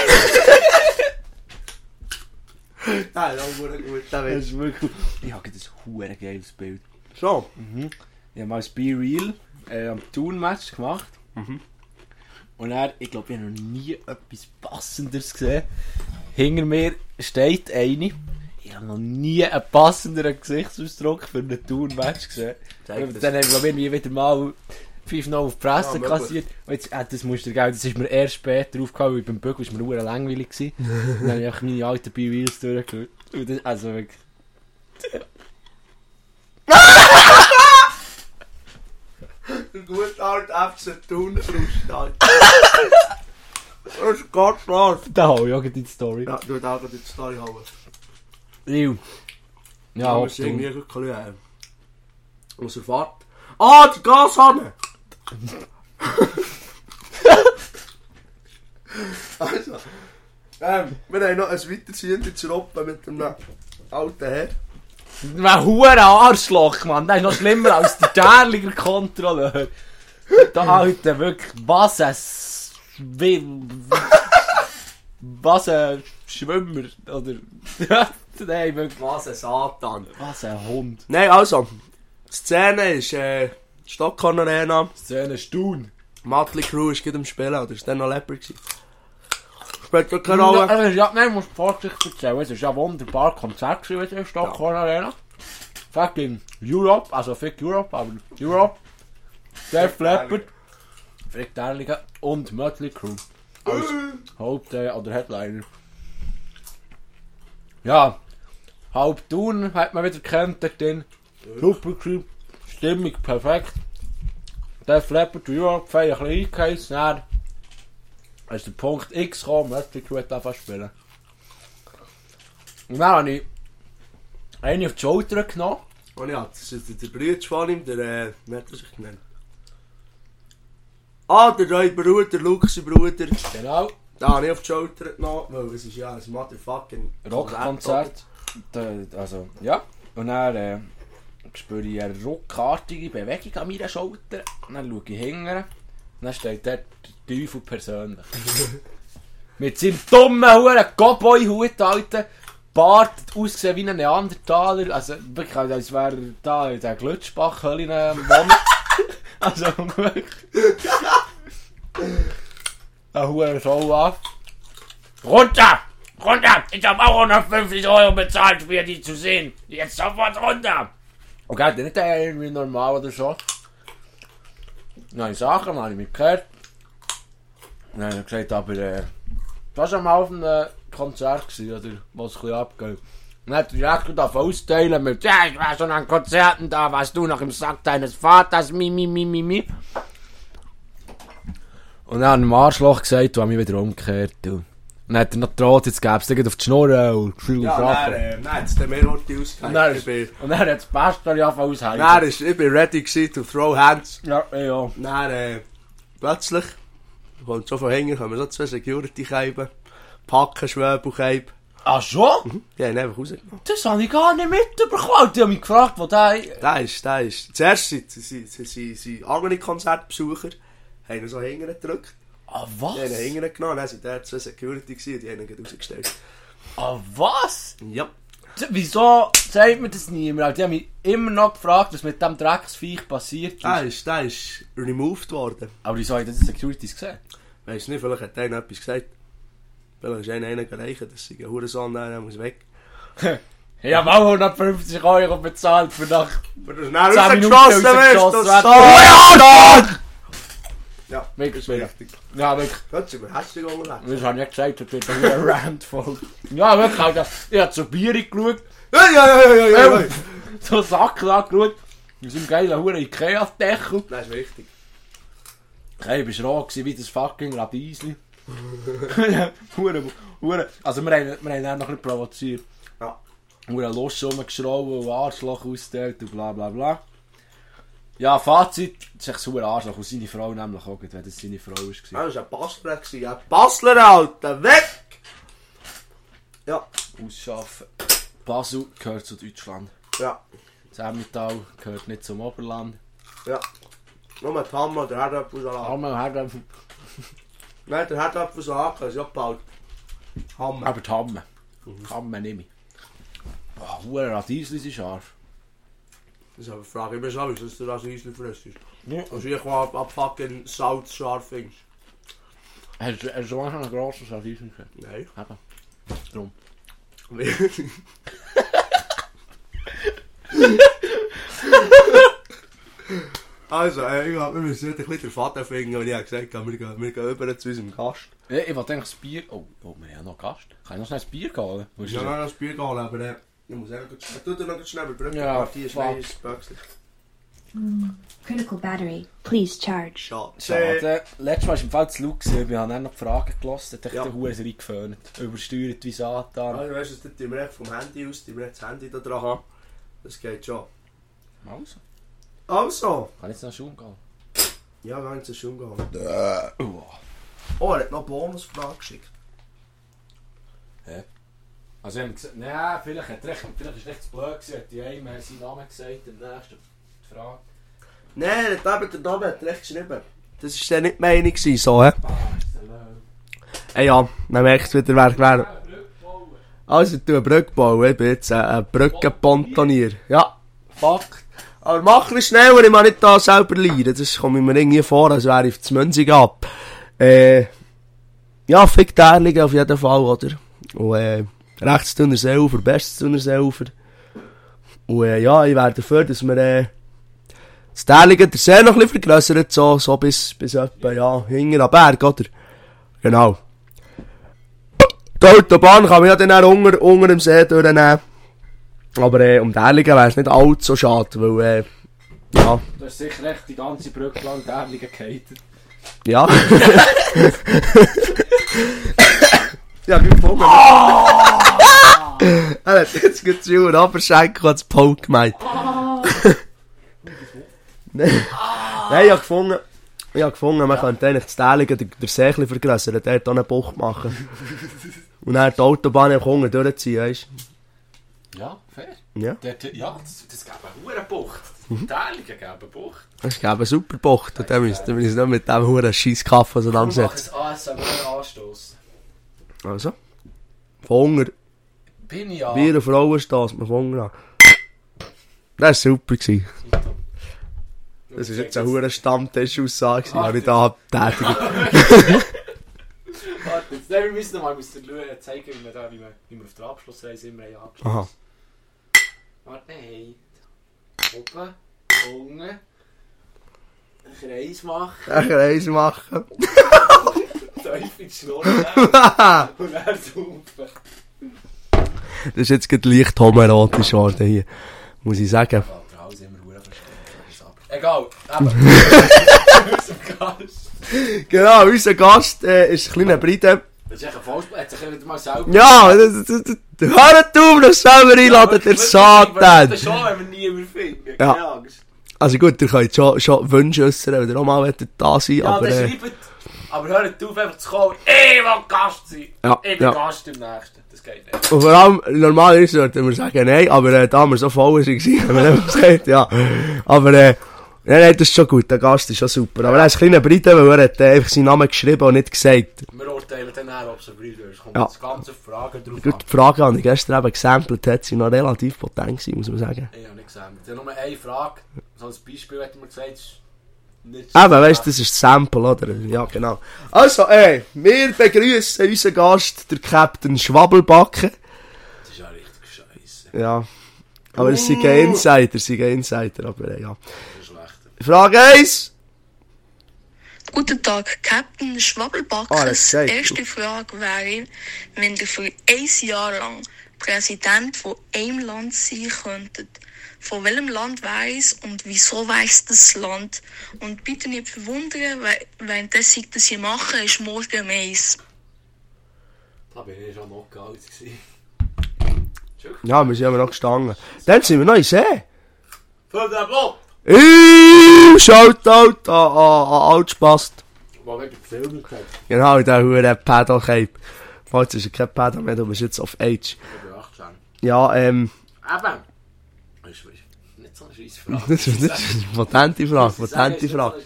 [SPEAKER 2] nein, das ist auch gut, der
[SPEAKER 1] Das
[SPEAKER 2] Witz.
[SPEAKER 1] ist wirklich... Ich habe ein hure geiles Bild.
[SPEAKER 2] So.
[SPEAKER 1] Ich habe mal ein Be Real äh, am Tun-Match gemacht. Und er, ich glaube, ich habe noch nie etwas Passenderes gesehen. Hinter mir steht eine. Ich habe noch nie einen passenderen Gesichtsausdruck für einen Tun-Match gesehen.
[SPEAKER 2] Zeig
[SPEAKER 1] Und
[SPEAKER 2] das.
[SPEAKER 1] dann haben wir, glaube ich, wieder mal fünf noch auf die Presse
[SPEAKER 2] Ja, möglich.
[SPEAKER 1] kassiert. Und jetzt, äh, das musst du dir geben, das ist mir erst später aufgefallen, weil beim Bügel war mir nur langweilig gewesen. Und dann habe ich einfach meine alten Be Reals durchgeschaut. Und das, also wirklich...
[SPEAKER 2] Der gute alte F C Thun-Frust, Alter. Das ist ganz klar.
[SPEAKER 1] Da habe ich auch die Story.
[SPEAKER 2] Ja, du darfst auch die Story haben.
[SPEAKER 1] Liu. Ja,
[SPEAKER 2] Ja,
[SPEAKER 1] ob
[SPEAKER 2] wir sind
[SPEAKER 1] du...
[SPEAKER 2] irgendwie ein bisschen äh, aus der Fahrt. Ah, die Gashanne! Also, ähm, wir haben noch ein weiterziehendes Roppe mit einem alten Herr.
[SPEAKER 1] Ein hure Arschloch, Mann. Das ist noch schlimmer als der Derliger Kontrolleur. Der Alte, wirklich, was ein... S- Wie... Was ein Schwimmer, oder... Nein, wirklich,
[SPEAKER 2] Was ein Satan.
[SPEAKER 1] was ein Hund.
[SPEAKER 2] Nein, also, die Szene ist äh, Stockhorn Arena.
[SPEAKER 1] Szene Stun.
[SPEAKER 2] Motley Crue ist gerade am Spielen, oder ist der noch Leper gewesen? Spielt doch keine Rolle.
[SPEAKER 1] Ja, ja, nein, musst du vorsichtig erzählen. Es ist ja ein wunderbares Konzert gewesen in der Stockholm Arena. Fucking Europe, also Fick Europe, aber Europe. Def Leppard, Frick Derliger und Motley Crue. Als Haupt- äh, oder Headliner. Ja, halb Thun hat man wieder gekannt dort drin. Super Crew, Stimmung perfekt. Def Leppard, Europe, fein ein bisschen eingeheizt. Dann ist der Punkt X gekommen, Motley Crue hat angefangen zu spielen. Und dann habe ich eine auf die Schulter genommen.
[SPEAKER 2] Und ja, das ist der Bruder von ihm, der, äh, wie hat er sich genannt? Ah, der neue Bruder, Lukas, sein Bruder.
[SPEAKER 1] Genau.
[SPEAKER 2] Da habe ich auf die Schulter genommen, weil es ist ja ein motherfucking
[SPEAKER 1] Rockkonzert. Da- Also, ja. Und dann äh, spüre ich eine ruckartige Bewegung an meiner Schulter. Und dann schaue ich hinterher. Und dann steht dort der Teufel persönlich. Mit seinem dummen Huren Cowboy-Hut, Alter. Bart, ausgesehen wie ein Neandertaler. Also wirklich, als wäre er da in der Glutschbach-Höhle wohnen. Also wirklich. Eine Huren Show ab.
[SPEAKER 3] Runter! Runter! Ich habe auch hundertfünfzig Euro bezahlt, für die zu sehen. Jetzt sofort runter!
[SPEAKER 1] Okay, dann nicht der irgendwie normal oder so. Dann habe ich Sachen, dann habe ich mich gehört. Dann habe ich gesagt, aber äh, das war mal auf einem Konzert gewesen, oder was ein bisschen abgeht. Und dann hat er direkt davon austeilen mit, ja, ich war schon an Konzerten da, warst du noch im Sack deines Vaters, mi, mi, mi, mi, mi. Und dann hat er dem Arschloch gesagt, du hast mich wieder umgekehrt. Du. Und dann hat er noch gedroht, jetzt gäbe es dir auf die Schnur und viel
[SPEAKER 2] Ja,
[SPEAKER 1] Sachen.
[SPEAKER 2] dann, äh, dann hat es den Mehrworte
[SPEAKER 1] Und
[SPEAKER 2] ausgehängt.
[SPEAKER 1] dann
[SPEAKER 2] Ich
[SPEAKER 1] ist-
[SPEAKER 2] bin,
[SPEAKER 1] und dann hat das Beste angefangen auszuhängen.
[SPEAKER 2] dann ist, ich bin ready gewesen to throw hands.
[SPEAKER 1] Ja, ja.
[SPEAKER 2] Dann, äh, plötzlich, kommt so von hinten, kommen so zwei Security-Käben, packen Schwebelkäben.
[SPEAKER 1] Ah, schon?
[SPEAKER 2] Die haben ihn einfach rausgenommen.
[SPEAKER 1] Das habe ich gar nicht mitbekommen. Die haben mich gefragt, wo der...
[SPEAKER 2] Der ist, der ist, zuerst sind, sind, sind, sind, sind andere Konzertbesucher, haben ihn so hinten gedrückt.
[SPEAKER 1] Ah,
[SPEAKER 2] Die haben ihn
[SPEAKER 1] was?
[SPEAKER 2] hinten genommen, dann sind da zwei Security gewesen, die haben ihn gleich rausgestellt.
[SPEAKER 1] Ah, was?
[SPEAKER 2] Ja.
[SPEAKER 1] Z- Wieso sagt mir das niemand? Die haben mich immer noch gefragt, was mit dem Drecksviech passiert ist.
[SPEAKER 2] Der ist, der ist removed worden.
[SPEAKER 1] Aber wieso haben die Securities gesehen?
[SPEAKER 2] Weiss nicht, vielleicht hat einer etwas gesagt. Vielleicht ist einer einer gereicht, dass sie ein Hurensohn der muss weg.
[SPEAKER 1] Ich habe auch hundertfünfzig Euro bezahlt für nach...
[SPEAKER 2] Wenn du schnell
[SPEAKER 1] zehn Minuten
[SPEAKER 2] rausgeschossen wirst, du
[SPEAKER 1] rausgeschossen werden.
[SPEAKER 2] Sohn! Ja,
[SPEAKER 1] Wirklich
[SPEAKER 2] das ist
[SPEAKER 1] wieder.
[SPEAKER 2] wichtig.
[SPEAKER 1] Ja, wirklich.
[SPEAKER 2] Gott, sind wir hässlich unterwegs.
[SPEAKER 1] Das habe ich nicht gesagt, das wird ein Rant voll. Ja, wirklich, Alter. Ich habe zur Bier geschaut,
[SPEAKER 2] Ja, ja, ja, ja, ja, ja.
[SPEAKER 1] so Sachen angeschaut. Wir sind geiler Huren Ikea-Deckel.
[SPEAKER 2] Das ist wichtig.
[SPEAKER 1] Hey, ich war roh gewesen, wie das fucking Radiesli. Hure, hure. Also wir haben, wir haben ihn noch nicht provoziert.
[SPEAKER 2] Ja.
[SPEAKER 1] Hure Lust rumgeschraubt und Arschloch ausgeteilt und bla bla bla. Ja, Fazit, das ist echt ein Arschloch. Und seine Frau nämlich auch, wenn das seine Frau war.
[SPEAKER 2] Ah, das war ein Basler. gewesen. Ein Basler, Alter, weg! Ja.
[SPEAKER 1] Ausschaffen. Basel gehört zu Deutschland.
[SPEAKER 2] Ja.
[SPEAKER 1] Das Emmental gehört nicht zum Oberland.
[SPEAKER 2] Ja. Nur die Hammer, der Herdapfelsalat.
[SPEAKER 1] Hammer, Hammer.
[SPEAKER 2] Nein, der Herdapfelsalat ist ja gebaut. Hammer.
[SPEAKER 1] Aber die Hammer. Hammer nehme ich. Boah, hure Radiesli sind scharf.
[SPEAKER 2] Das ist aber eine Frage. Ich bin schon, dass du das Eisli frisst.
[SPEAKER 1] Ja.
[SPEAKER 2] Also ich ab, ab fucking Salz scharf findest.
[SPEAKER 1] Hast du hast du schon einen grossen Radiesli gesehen?
[SPEAKER 2] Nein.
[SPEAKER 1] Eben. Drum.
[SPEAKER 2] Also, äh, ich hab, wir müssen nicht ein bisschen den Vater finden, und ich habe gesagt, wir gehen, wir gehen über zu unserem Gast.
[SPEAKER 1] Ja, ich wollte eigentlich das Bier... Oh, oh, wir haben ja noch Gast. Kann ich noch schnell das Bier holen? Wo ist
[SPEAKER 2] Ja,
[SPEAKER 1] das?
[SPEAKER 2] noch ein Bier gehen, aber äh, ich muss auch noch schnell, tu dir noch schnell überbrücken,
[SPEAKER 1] Ja,
[SPEAKER 2] ja, die ist
[SPEAKER 1] fuck.
[SPEAKER 2] nein, ist Böxli.
[SPEAKER 4] Critical battery. Please charge.
[SPEAKER 2] Schade.
[SPEAKER 1] Schade. Letztes Mal war im Fall zu laut gewesen. Wir haben dann noch die Fragen gelassen. Da hat
[SPEAKER 2] Ja.
[SPEAKER 1] der Hure reingeföhnt. Übersteuert wie Satan.
[SPEAKER 2] Also, weißt du, das tun wir echt vom Handy aus, die wir das Handy da dran haben. Das geht schon.
[SPEAKER 1] Also,
[SPEAKER 2] Also!
[SPEAKER 1] kann ich jetzt noch Schaum gehen?
[SPEAKER 2] Ja, wir haben es schon gehabt.
[SPEAKER 1] Uh.
[SPEAKER 2] Oh, er hat noch eine Bonusfrage geschickt.
[SPEAKER 1] Also, ich habe gesagt, nein, vielleicht, hat recht, vielleicht ist es recht zu blöd gewesen. Hat die eine seinen Namen gesagt, im nächsten die Frage.
[SPEAKER 2] Nein, er hat eben der Name hat recht geschrieben. Das war dann nicht die Meinung gewesen, so, hä? Hey, ja, man merkt wieder, wer wer. Also, ich tue eine Brücke bauen. Ich bin jetzt ein, ein Brückenpontonier. Ja, Fakt. Aber mach ein schneller, ich muss nicht da selber leiden. Das kommt mir irgendwie vor, als wäre ich auf das Münzig ab. Äh, ja, fick die Erligen auf jeden Fall, oder? Und, äh, rechts Thuner Seeufer, bestes Thuner Seeufer. Und, äh, ja, ich wäre dafür, dass wir, äh, das Erligen der See noch ein bisschen vergrössert, so, so bis, bis etwa, ja, hinten am Berg, oder? Genau. Die Autobahn kann man ja dann auch unter, unter dem See durchnehmen. Aber äh, um die Erligen wäre es nicht allzu schade, weil, äh, ja,
[SPEAKER 1] Du hast sicher echt die ganze Brücke lang die Erligen gehatet.
[SPEAKER 2] ja. Ja, wie gefunden. Er hat jetzt gerade zu und Aberschenkel als Paul gemeint. Nein, Nein, ich habe gefunden, Ich habe gefunden, man ja. könnte eigentlich das Dähligen der, der See ein vergrössern, dort auch eine Bucht machen. Und dann die Autobahn im Kunden durchziehen, weißt
[SPEAKER 1] du? Ja, fair.
[SPEAKER 2] Ja,
[SPEAKER 1] dort, ja das, das gäbe eine hure Bucht. Mhm. Dähligen gäbe eine Bucht.
[SPEAKER 2] Das gäbe eine super Bucht. Und dann müssen wir uns nicht mit dem huren scheiß Kaffee auseinandersetzen.
[SPEAKER 1] Wir machen ein A S M R-Anstoss.
[SPEAKER 2] Also? Von Hunger.
[SPEAKER 1] Bin ich ja.
[SPEAKER 2] Bier und Frauen stossen wir von Hunger an. Das war super. Gewesen. Das war jetzt eine hure Stammtisch-Aussage, die ich da tätige.
[SPEAKER 1] Warte, jetzt wir müssen mal zeigen, wie wir, da, wie wir, wie wir auf der Abschlussreise immer angeschlossen haben.
[SPEAKER 2] Aha.
[SPEAKER 1] Warte, nein. Oben, unten. Einen Kreis machen.
[SPEAKER 2] Einen Kreis machen.
[SPEAKER 1] Tief in die Schnur und dann saufen.
[SPEAKER 2] Das ist jetzt gerade leicht homoerotisch geworden hier, muss ich sagen.
[SPEAKER 1] Egal, eben. Unser Gast.
[SPEAKER 2] Genau, unser Gast äh, ist ein kleiner Brite.
[SPEAKER 1] Das ist echt ein Vollsp- hat sich wieder mal selber...
[SPEAKER 2] Ja, das, das, das, hört auf, das selber einladen, der Satan.
[SPEAKER 1] Das ist schon, wenn wir niemanden finden.
[SPEAKER 2] Ja.
[SPEAKER 1] Keine Angst.
[SPEAKER 2] Also gut, ihr könnt schon, schon Wünsche äußern, wenn ihr auch mal da sein wollt.
[SPEAKER 1] Ja,
[SPEAKER 2] aber,
[SPEAKER 1] dann
[SPEAKER 2] äh,
[SPEAKER 1] schreibt, aber hört auf, einfach zu kommen. Ich will Gast sein.
[SPEAKER 2] Ja,
[SPEAKER 1] ich bin
[SPEAKER 2] ja.
[SPEAKER 1] Gast im nächsten. Das geht nicht.
[SPEAKER 2] Und vor allem, normalerweise sollten wir sagen, nein, aber äh, da wir so voll waren, haben wir nicht gesagt, ja. Aber, äh, nein, nein, das ist schon gut, der Gast ist schon super. Aber er ist ein kleiner Brite, weil er hat äh, einfach seinen Namen geschrieben und nicht gesagt.
[SPEAKER 1] Wir urteilen dann auch, ob es ein Brite ist. Kommt
[SPEAKER 2] Ja.
[SPEAKER 1] das ganze Fragen drauf
[SPEAKER 2] Gut, die Frage habe ich gestern eben gesampelt, hat sie noch relativ potent gewesen, muss man sagen.
[SPEAKER 1] Ich habe nicht gesagt. Ich habe nur eine Frage. So als Beispiel hat man gesagt, ist nicht
[SPEAKER 2] Eben, weißt du, das ist das Sample, oder? Ja, genau. Also, ey, wir begrüßen unseren Gast, der Captain Schwabbelbacken.
[SPEAKER 1] Das ist ja richtig scheiße.
[SPEAKER 2] Ja. Aber es sind keine Insider, es sind keine Insider, aber äh, ja.
[SPEAKER 1] Das ist schlecht.
[SPEAKER 2] Frage eins.
[SPEAKER 5] Guten Tag, Captain Schwabbelbackes.
[SPEAKER 2] Ah, das ist geil.
[SPEAKER 5] Erste Frage wäre, wenn ihr für ein Jahr lang Präsident von einem Land sein könntet, von welchem Land wäre es und wieso weiss das Land? Und bitte nicht verwundern, weil währenddessen ich das hier mache, ist morgen Mais.
[SPEAKER 1] Da bin ich schon noch alt gewesen.
[SPEAKER 2] Ja, wir sind aber noch gestanden. Dann sind wir noch in See.
[SPEAKER 1] Für den Bob!
[SPEAKER 2] Uuuuh, Shoutout an, an, an Altspast.
[SPEAKER 1] Wo wird der Film gesagt?
[SPEAKER 2] Genau, der hure Pedal-Cape. Falls ist er kein Pedal mehr, du bist jetzt auf Age.
[SPEAKER 1] Ich bin achtzehn.
[SPEAKER 2] Ja, ähm...
[SPEAKER 1] Eben. Das ist nicht so eine scheisse Frage.
[SPEAKER 2] Das ist, das ist eine potente Frage, potente Frage.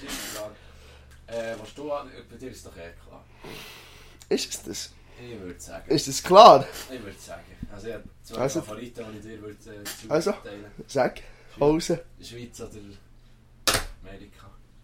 [SPEAKER 1] Äh, was du an... Bei dir ist doch eh klar.
[SPEAKER 2] Ist es das?
[SPEAKER 1] Ich würde sagen.
[SPEAKER 2] Ist das klar?
[SPEAKER 1] Ich würde sagen. Also ich habe zwei
[SPEAKER 2] Also-
[SPEAKER 1] Favoriten, die ich dir würde äh, zuteilen.
[SPEAKER 2] Also? Sag, Hause.
[SPEAKER 1] Schweiz oder Amerika?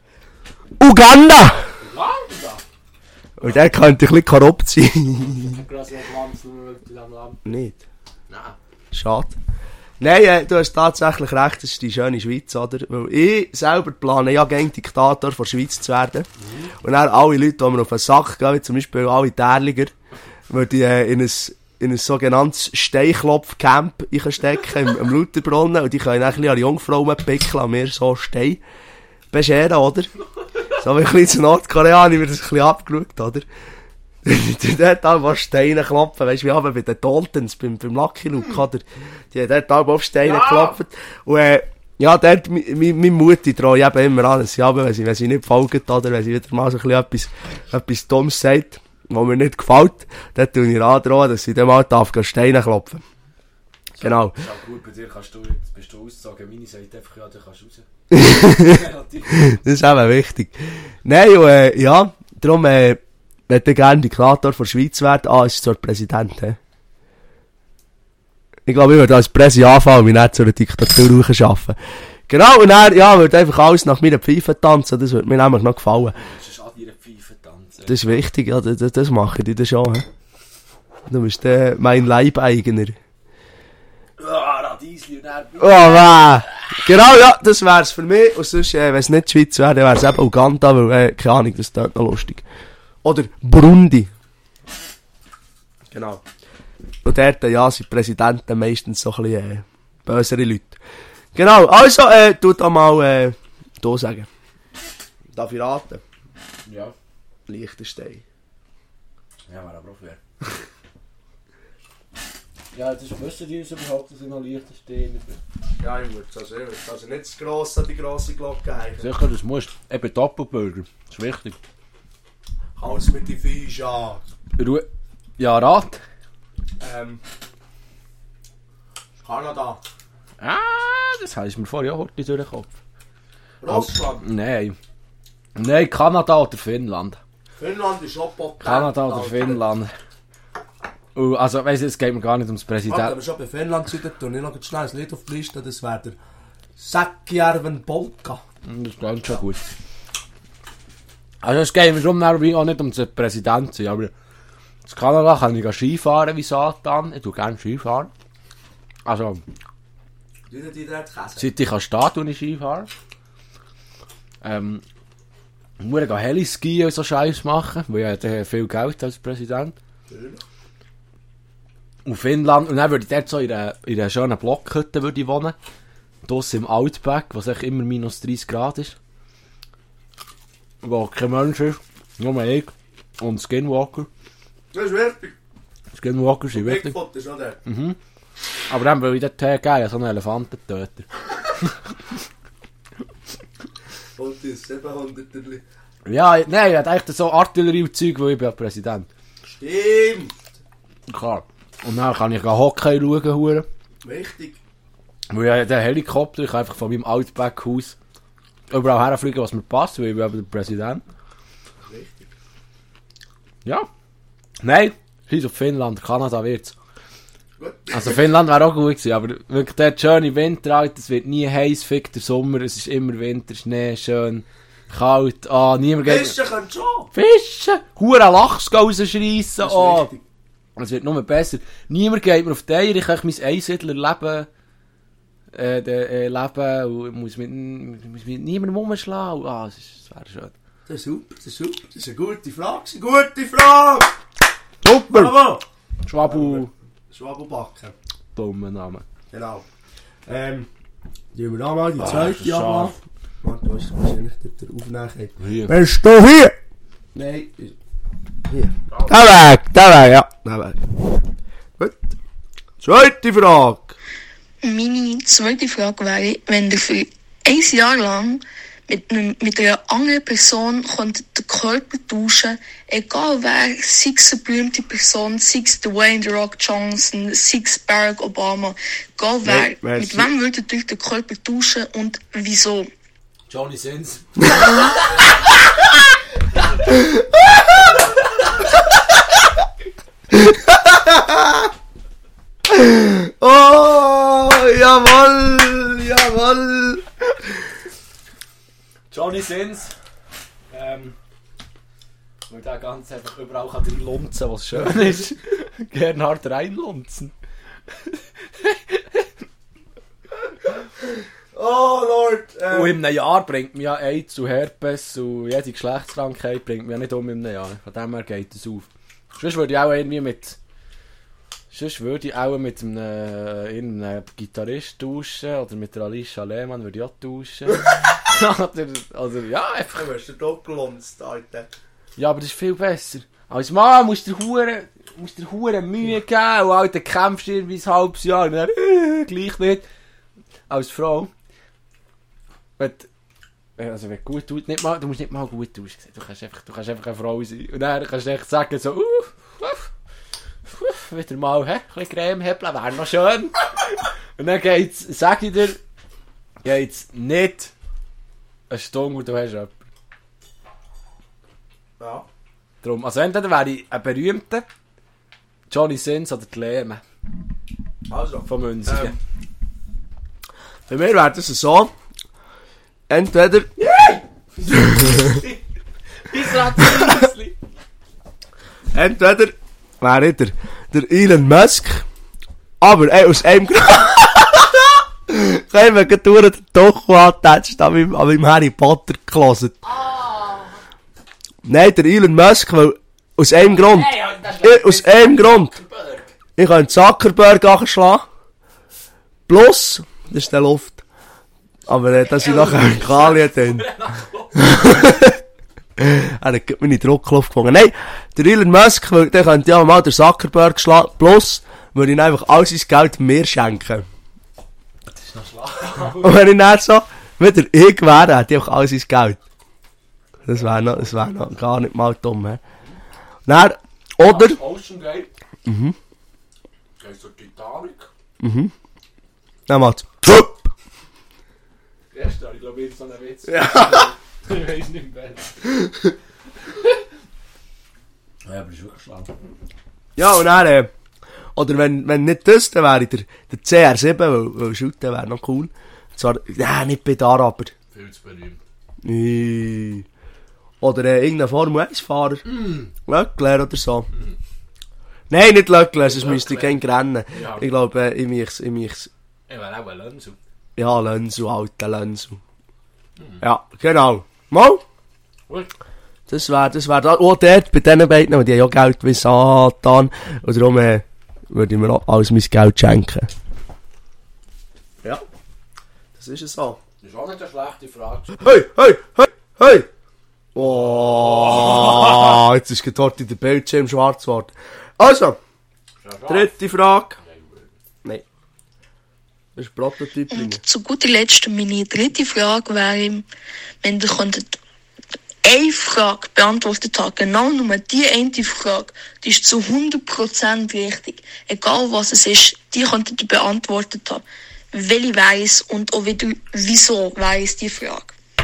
[SPEAKER 2] Uganda!
[SPEAKER 1] Uganda?
[SPEAKER 2] Und der könnte ein bisschen korrupt sein.
[SPEAKER 1] Ein grosses Land, nur in diesem Land.
[SPEAKER 2] Nicht.
[SPEAKER 1] Nein.
[SPEAKER 2] Schade. Nein, äh, du hast tatsächlich recht, das ist die schöne Schweiz, oder? Weil ich selber plane ja gerne Diktator von der Schweiz zu werden. Mhm. Und dann alle Leute, die mir auf den Sack gehen, wie zum Beispiel alle Därliger, würde ich äh, in ein, in ein sogenanntes Steinklopf-Camp einstecken, im, im Lutherbrunnen, und die können dann ein bisschen an Jungfrauen pickeln und mir so Stein bescheren, oder? So wie ein bisschen zu Nordkorea, ich mir das ein bisschen abgeschaut, oder? Die dort auch Steine klopfen, weißt du, wie aber bei den Daltons, beim, beim Lucky Luke, oder? Die haben dort auch auf Steine ja. geklopft. Und, äh, ja, dort, meine Mutti traue ich eben immer an, dass sie aber, wenn sie, wenn sie nicht folgt, oder wenn sie wieder mal so ein bisschen etwas, etwas Dummes sagt, was mir nicht gefällt, dann tue ich androhen, dass sie dann mal darf Steine klopfen. So, genau.
[SPEAKER 1] Ist auch gut, bei dir kannst du, jetzt bist du aussagen, meine sagt einfach, ja, du kannst raus.
[SPEAKER 2] Das ist eben wichtig. Nein, und, äh, ja, darum, äh, ich hätte gerne Diktator von der Schweiz werden. Ah, ist zur Präsident, he? Ich glaube, ich würde als Präsi anfangen und mich nicht zu einer Diktatur schaffen. Genau, und dann, ja, würde einfach alles nach meiner Pfeife tanzen. Das würde mir nämlich noch gefallen.
[SPEAKER 1] Du musst an deiner Pfeife tanzen.
[SPEAKER 2] Das ist wichtig, ja, das, das mache ich dir schon, he? Du bist äh, mein Leibeigener.
[SPEAKER 1] Ah, Radiesli und dann...
[SPEAKER 2] Oh, weh! Genau, ja, das wär's für mich. Und sonst, äh, wenn es nicht die Schweiz wäre, dann wär's eben Uganda, weil, äh, keine Ahnung, das ist dort noch lustig. Oder Burundi. Genau. Und dort, ja, sind Präsidenten meistens so ein bisschen äh, bösere Leute. Genau, also, äh, tu da mal, äh, da sagen. Darf ich raten?
[SPEAKER 1] Ja.
[SPEAKER 2] Liechtenstein.
[SPEAKER 1] Ja, wäre aber auch fair. Ja, das wissen die uns überhaupt, dass ich noch Liechtensteiner bin.
[SPEAKER 2] Ja, ich würde also, also nicht zu gross an die grosse Glocke hängen.
[SPEAKER 1] Sicher, das musst du. Eben Doppelburger. Das ist wichtig.
[SPEAKER 2] Alles mit die Fische.
[SPEAKER 1] Ruhe. Ja, Rat.
[SPEAKER 2] Ähm. Kanada.
[SPEAKER 1] Ah, das heisst mir vorher auch heute durch den Kopf.
[SPEAKER 2] Russland.
[SPEAKER 1] Nein. Nein, Kanada oder Finnland.
[SPEAKER 2] Finnland ist auch potent.
[SPEAKER 1] Kanada oder
[SPEAKER 2] Alter.
[SPEAKER 1] Finnland. Uh, also, weiss ich, es geht mir gar nicht ums
[SPEAKER 2] Warte, wenn
[SPEAKER 1] Präsident.
[SPEAKER 2] wir schon bei Finnland sind, tun ich noch schnell ein Lied auf die Liste. Das wäre der Säckjärven Polka.
[SPEAKER 1] Das klingt schon gut. Also, es geht mir schon auch nicht um den Präsident zu sein, aber in Kanada kann ich Skifahren wie Satan. Ich tue gerne Skifahren. Also,
[SPEAKER 2] Du die dort käse.
[SPEAKER 1] seit ich stehen kann, ich Skifahren. Ähm, ich muss gehen Heliski und so Scheiß machen, weil ich habe viel Geld als Präsident. Und Finnland, und dann würde ich dort so in einer, in einer schönen Blockhütte würde ich wohnen. Draussen im Outback, was echt immer minus dreißig Grad ist. Wo kein Mensch ist, nur ich und Skinwalker.
[SPEAKER 2] Das ist wichtig.
[SPEAKER 1] Skinwalker sind wichtig.
[SPEAKER 2] Bigfoot ist auch der.
[SPEAKER 1] Aber dann will ich dort gehen, so einen Elefantentöter.
[SPEAKER 2] Und das siebenhundert.
[SPEAKER 1] Ja, nein, ich hatte eigentlich so Artillerie und Zeug, weil ich bin ja Präsident.
[SPEAKER 2] Stimmt.
[SPEAKER 1] Klar. Und dann kann ich Hockey schauen, hure.
[SPEAKER 2] Wichtig.
[SPEAKER 1] Weil ich den Helikopter, ich kann einfach von meinem Outback-Haus überall herfliegen, was mir passt, weil ich bin aber der Präsident.
[SPEAKER 2] Wichtig.
[SPEAKER 1] Ja. Nein, scheiß auf Finnland, Kanada wird's.
[SPEAKER 2] Gut.
[SPEAKER 1] Also Finnland wäre auch gut gewesen, aber wirklich der schöne Winter, Alter, es wird nie heiß, fick der Sommer, es ist immer Winter, Schnee, schön, kalt, ah, niemand geht...
[SPEAKER 2] Fischen können schon.
[SPEAKER 1] Fischen! Hure Lachs rausschreissen,
[SPEAKER 2] Das ist
[SPEAKER 1] ah.
[SPEAKER 2] wichtig.
[SPEAKER 1] Es wird nur besser. Niemand geht mir auf die Eier, ich kann mein Einsiedlerleben äh, de, äh, leben und muss mit, muss mit niemandem rumschlagen. Ah, das, ist, das wäre schön.
[SPEAKER 2] Das ist super, das ist super. Das ist eine gute Frage. Eine gute Frage!
[SPEAKER 1] Super!
[SPEAKER 2] Bravo!
[SPEAKER 1] Schwabu,
[SPEAKER 2] Schwabelbacken.
[SPEAKER 1] dummer Name.
[SPEAKER 2] Genau. Ähm, nehmen wir da mal die
[SPEAKER 1] Ah,
[SPEAKER 2] zweite
[SPEAKER 1] das
[SPEAKER 2] Jahre.
[SPEAKER 1] Schaf.
[SPEAKER 2] Warte, du hast wahrscheinlich dort der Aufnahme.
[SPEAKER 1] Hier.
[SPEAKER 2] Bist du hier? Nein. Hier. Da weg, da weg, ja. Da weg. Gut. Zweite Frage.
[SPEAKER 5] Meine zweite Frage wäre, wenn ihr für ein Jahr lang mit, einem, mit einer anderen Person könntet den Körper tauschen, egal wer, sei es eine berühmte Person, sei es Dwayne The Rock Johnson, sei es Barack Obama, egal wer,
[SPEAKER 2] Nein, merci.
[SPEAKER 5] mit wem würdet ihr den Körper tauschen und wieso?
[SPEAKER 1] Johnny Sins.
[SPEAKER 2] Oh, jawohl, jawohl.
[SPEAKER 1] Johnny Sins. Ähm. Weil der ganz einfach überall kann reinlunzen, was schön ist. Gernhard reinlunzen.
[SPEAKER 2] Oh, Lord. Ähm,
[SPEAKER 1] Und in einem Jahr bringt mir ja AIDS und Herpes und jede Geschlechtskrankheit bringt mir ja nicht um in einem Jahr. Von dem her geht es auf. Sonst würde ich auch irgendwie mit... Sonst würde ich auch mit einem, äh, einem Gitarrist tauschen oder mit der Alicia Lehmann würde ich auch tauschen. oder, oder ja, einfach...
[SPEAKER 2] Du hast den Doppelunst, Alter.
[SPEAKER 1] Ja, aber das ist viel besser. Als Mann musst du dir hure, musst dir hure Mühe geben und Alter, kämpfst irgendwie ein halbes Jahr und dann, äh, gleich nicht. Als Frau... Wenn, also wenn du gut tust, nicht mal, du musst nicht mal gut aussehen. Du kannst einfach, du kannst einfach eine Frau sein. Und dann kannst du echt sagen so, uh, uh, uh, wieder mal, hä, ein bisschen Creme hebeln, wäre noch schön. Und dann geht's, sag ich dir, geht's nicht eine Stunde und du hast jemanden.
[SPEAKER 2] Ja.
[SPEAKER 1] Drum, also entweder wäre ich ein berühmter Johnny Sins oder die Lehme
[SPEAKER 2] Also.
[SPEAKER 1] von Münzigen.
[SPEAKER 2] Ähm, Bei mir wäre das so. Entweder. Entweder wäre ich der, der Elon Musk. Aber ey, aus einem Grund. Können wir gerade durch den Docho antatscht an meinem, an meinem Harry Potter Closet. Nein, der Elon Musk, weil aus einem Grund. Ich, aus einem Grund. Ich kann Zuckerberg anschlagen. Plus, das ist der Luft. Aber äh, da sind nachher Kalien drin. Er hat meine Druckluft gefunden. Nein, der Elon Musk, weil der könnte ja mal der Zuckerberg schlagen. Plus, würde ich einfach all sein Geld mir schenken.
[SPEAKER 1] noch schlau.
[SPEAKER 2] Und wenn ich dann so wieder ich wäre, hätte ich auch all sein Geld. Das wäre noch, das wär noch gar nicht mal dumm, he. Dann, oder...
[SPEAKER 1] Ocean Gate.
[SPEAKER 2] Mhm.
[SPEAKER 1] Gehst du Titanic?
[SPEAKER 2] Mhm. Dann macht's...
[SPEAKER 1] Erst, ich glaube, ich so einen Witz.
[SPEAKER 2] Ja.
[SPEAKER 1] Ich weiß nicht mehr. Ja, aber das ist wirklich schlau.
[SPEAKER 2] Ja, und dann, äh, oder wenn, wenn nicht das, dann wäre der, der C R sieben, weil, weil Shooten wäre noch cool. Zwar, ja, nicht bei der aber.
[SPEAKER 1] Viel zu berühmt.
[SPEAKER 2] Nee. Oder äh, irgendein Formel eins Fahrer. Mm. Leclerc oder so. Mm. Nein, nicht Leclerc, sonst müsste ich kein rennen.
[SPEAKER 1] Ja.
[SPEAKER 2] Ich glaube, äh, ich mich, ich mich...
[SPEAKER 1] Ich wäre auch ein Lenzo.
[SPEAKER 2] Ja, Lenzo, alter Lenzo. Mm. Ja, genau. Mal?
[SPEAKER 1] Gut.
[SPEAKER 2] Das wäre, das wäre, auch dort, bei diesen beiden, die haben ja Geld wie Satan. Und darum, äh, würde ich mir auch alles mein Geld schenken. Ja. Das ist es so.
[SPEAKER 1] Das ist auch nicht eine schlechte Frage.
[SPEAKER 2] Hey, hey, hey, hey! Oh, jetzt ist gerade in der Bildschirm schwarz geworden. Also, dritte Frage. Nein. Das ist ein Prototyp.
[SPEAKER 5] Und zu guter Letzt meine dritte Frage wäre, wenn ihr könntet eine Frage beantwortet haben, genau nur die eine Frage, die ist zu hundert Prozent richtig. Egal was es ist, die könntet ihr beantwortet haben. Welche weiss und auch wieder, wieso weiss die Frage.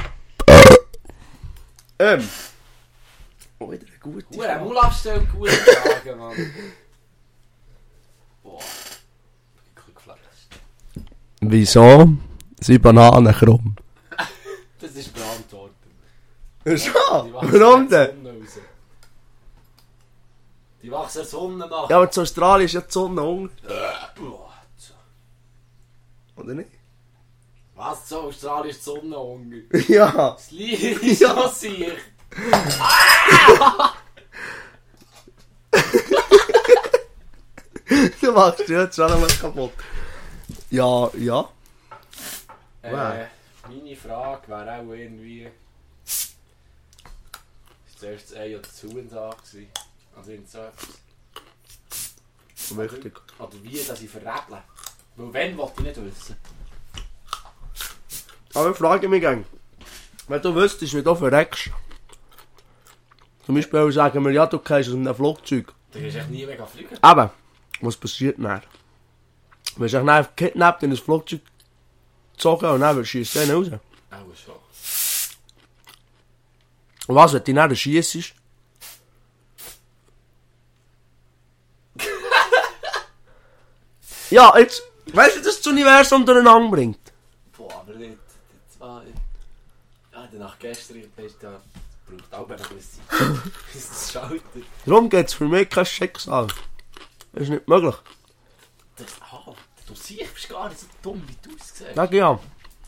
[SPEAKER 2] Ähm. Oh, wieder eine gute
[SPEAKER 1] Frage.
[SPEAKER 2] Frage.
[SPEAKER 1] Mulaf stellt gute Fragen, Mann. Boah. Ich bin geflasht.
[SPEAKER 2] Wieso sind Bananen krumm?
[SPEAKER 1] Das ist beantwortet.
[SPEAKER 2] Schon? Warum denn?
[SPEAKER 1] Die wachsen der Sonne nach.
[SPEAKER 2] Ja, aber in Australien ist ja die Sonne unter. Oder nicht?
[SPEAKER 1] Was? So Australien ist die Sonne unter.
[SPEAKER 2] Ja.
[SPEAKER 1] Das Lied ist so sicher.
[SPEAKER 2] Du machst dich jetzt schon einmal kaputt. Ja, ja.
[SPEAKER 1] Äh,
[SPEAKER 2] Wow.
[SPEAKER 1] meine Frage wäre auch irgendwie... Ist zuerst das Ei oder das Huhn da gewesen? Also irgend so etwas.
[SPEAKER 2] Wichtig.
[SPEAKER 1] Oder, oder wie, dass ich verräble. Weil wenn, wollte ich nicht wissen.
[SPEAKER 2] Aber ich frage mich gerne. Wenn du wüsstest, wie du verreckst. Zum Beispiel sagen wir, ja, du gehst aus einem Flugzeug.
[SPEAKER 1] Du gehst echt nie mega fliegen.
[SPEAKER 2] Aber, was passiert dann? Du wirst dich dann gekidnappt in ein Flugzeug gezogen und dann schießt du den raus.
[SPEAKER 1] Auch schon.
[SPEAKER 2] Und was, wenn du dann schiessest? Ja, jetzt, weißt du, dass das Universum durcheinander bringt?
[SPEAKER 1] Boah, aber nicht. Das war... Ja, nach gestern ist da... braucht auch noch ein bisschen Zeit. Bis das schaltet.
[SPEAKER 2] Darum geht es für mich kein Schicksal. Das ist nicht möglich.
[SPEAKER 1] Das, ah, du siehst, bist gar nicht so dumm, wie du es siehst.
[SPEAKER 2] Sag ja.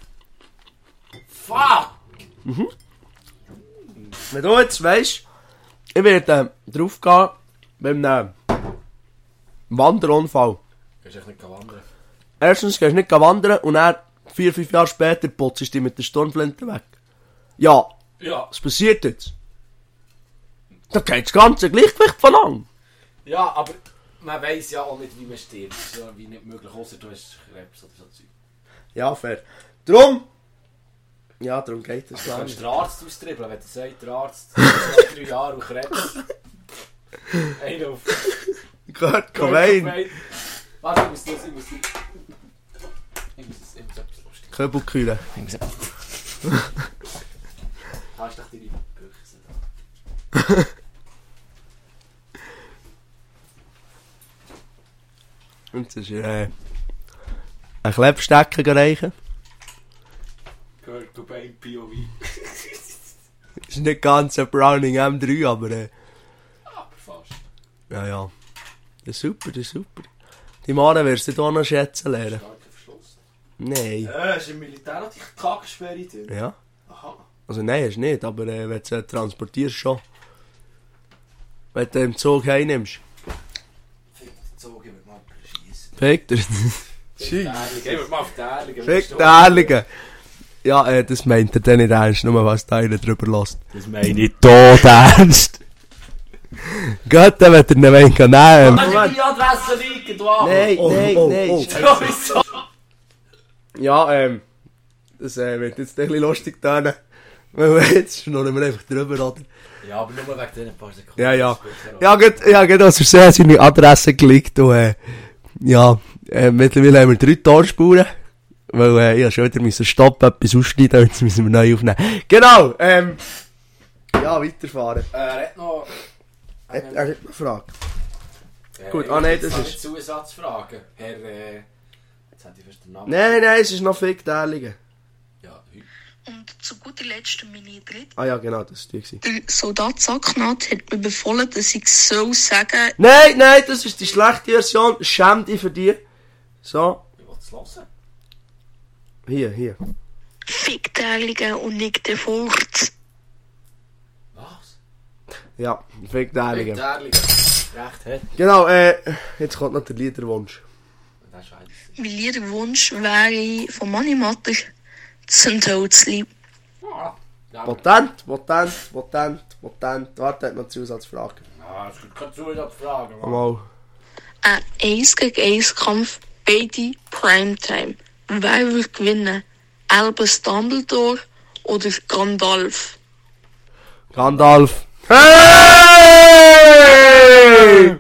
[SPEAKER 1] Fuck!
[SPEAKER 2] Mhm. Wenn du jetzt weisst, ich werde äh, drauf gehen beim äh, Wanderunfall.
[SPEAKER 1] Gehst echt nicht wandern.
[SPEAKER 2] Erstens gehst du nicht wandern und dann vier, fünf Jahre später putzt du dich mit der Sturmflinte weg. Ja,
[SPEAKER 1] Ja.
[SPEAKER 2] was passiert jetzt? Da geht das ganze Gleichgewicht von an.
[SPEAKER 1] Ja, aber man weiss ja auch nicht, wie man stirbt. Das ist ja wie nicht möglich, außer du hast Krebs oder so Zeug.
[SPEAKER 2] Ja, fair. Drum. Ja, darum geht das
[SPEAKER 1] Du
[SPEAKER 2] gar
[SPEAKER 1] kannst
[SPEAKER 2] nicht.
[SPEAKER 1] den Arzt austribbeln, wenn du sagst, der Arzt zwei, drei Jahre und Krebs. Einer auf...
[SPEAKER 2] Kurt Cobain.
[SPEAKER 1] Warte, ich muss das, ich muss das... Ich muss das, ich muss etwas lustig.
[SPEAKER 2] Köbelkühle.
[SPEAKER 1] Hast du doch deine Büchse da?
[SPEAKER 2] Und das ist äh, ein Klebstecker reichen.
[SPEAKER 1] Kurt Cobain, P O V.
[SPEAKER 2] Ist nicht ganz ein Browning M drei, aber äh,
[SPEAKER 1] Aber fast.
[SPEAKER 2] ja, ja. Das ist super, das ist super. Die Mare wirst du hier noch schätzen lernen.
[SPEAKER 1] Starker Verschluss.
[SPEAKER 2] Nein.
[SPEAKER 1] Äh, ist im Militär noch die Kackensperre drin?
[SPEAKER 2] Ja.
[SPEAKER 1] Aha.
[SPEAKER 2] Also nein, hast du nicht, aber äh, wenn du sie transportierst schon. Wenn du im Zug heimnimmst.
[SPEAKER 1] Fick den Zug, ich würde mal schiessen.
[SPEAKER 2] Fick dir.
[SPEAKER 1] Fick den Ehrlichen, ich würde mal auf den Ehrlichen.
[SPEAKER 2] Fick den Ehrlichen. Ja, äh, das meint er dann nicht ernst, nur was der eine drüber lässt.
[SPEAKER 1] Das meine ich tot ernst.
[SPEAKER 2] Gut, dann wird er nicht mehr nehmen.
[SPEAKER 1] Dann die Adresse liegen, du Arsch.
[SPEAKER 2] Nein,
[SPEAKER 1] Oh,
[SPEAKER 2] nein,
[SPEAKER 1] oh,
[SPEAKER 2] nein.
[SPEAKER 1] oh.
[SPEAKER 2] Scheiße.
[SPEAKER 1] Sowieso.
[SPEAKER 2] Ja, ähm, das äh, wird jetzt ein bisschen lustig tönen. Weil jetzt schnurren wir einfach drüber, oder?
[SPEAKER 1] Ja, aber nur wegen diesen paar Sekunden.
[SPEAKER 2] Ja, ja. Ja, gut, ja, gut, aus Versehen seine Adresse gelegt und, äh, ja, äh, mittlerweile haben wir drei Torspuren. Weil, äh, ich ja schon wieder müssen stoppen, etwas ausschneiden, jetzt müssen wir neu aufnehmen. Genau, ähm, ja, weiterfahren.
[SPEAKER 1] Äh, er hat noch...
[SPEAKER 2] Er, er hat noch eine Frage.
[SPEAKER 1] Äh,
[SPEAKER 2] Gut, ah, nein, das
[SPEAKER 1] ist...
[SPEAKER 2] ist-
[SPEAKER 1] Zusatzfrage. Herr, äh... Jetzt hat ich fast den Namen...
[SPEAKER 2] Nein, nein, es ist noch Fickteilungen.
[SPEAKER 1] Ja, heute.
[SPEAKER 5] Und zu guter Letzt meine dritte.
[SPEAKER 2] Ah ja, genau, das war die.
[SPEAKER 5] Der Soldat Sacknat hat mir befohlen, dass ich so sagen,
[SPEAKER 2] Nein, nein, das ist die schlechte Version. Schäm dich für die. So,
[SPEAKER 1] Ich will es hören.
[SPEAKER 2] hier, hier.
[SPEAKER 5] Fickteiligen und nicht der Furz.
[SPEAKER 1] Was?
[SPEAKER 2] Ja, Fickteilungen.
[SPEAKER 1] Ehrlich. Recht hat.
[SPEAKER 2] Genau, äh, jetzt kommt noch der Liederwunsch.
[SPEAKER 1] Das ist scheiße.
[SPEAKER 5] Mein Liederwunsch wäre von Manni Matter Zündholzli.
[SPEAKER 1] Ja. Ja,
[SPEAKER 2] Potent, potent, potent, potent. Warte, hat noch eine Zusatzfrage.
[SPEAKER 1] ja, es gibt keine Zusatzfrage. Mann.
[SPEAKER 2] Mal.
[SPEAKER 5] Ein eins gegen eins Kampf, beide Primetime. Wer wird gewinnen? Albus Dumbledore oder Gandalf?
[SPEAKER 2] Gandalf. Hey!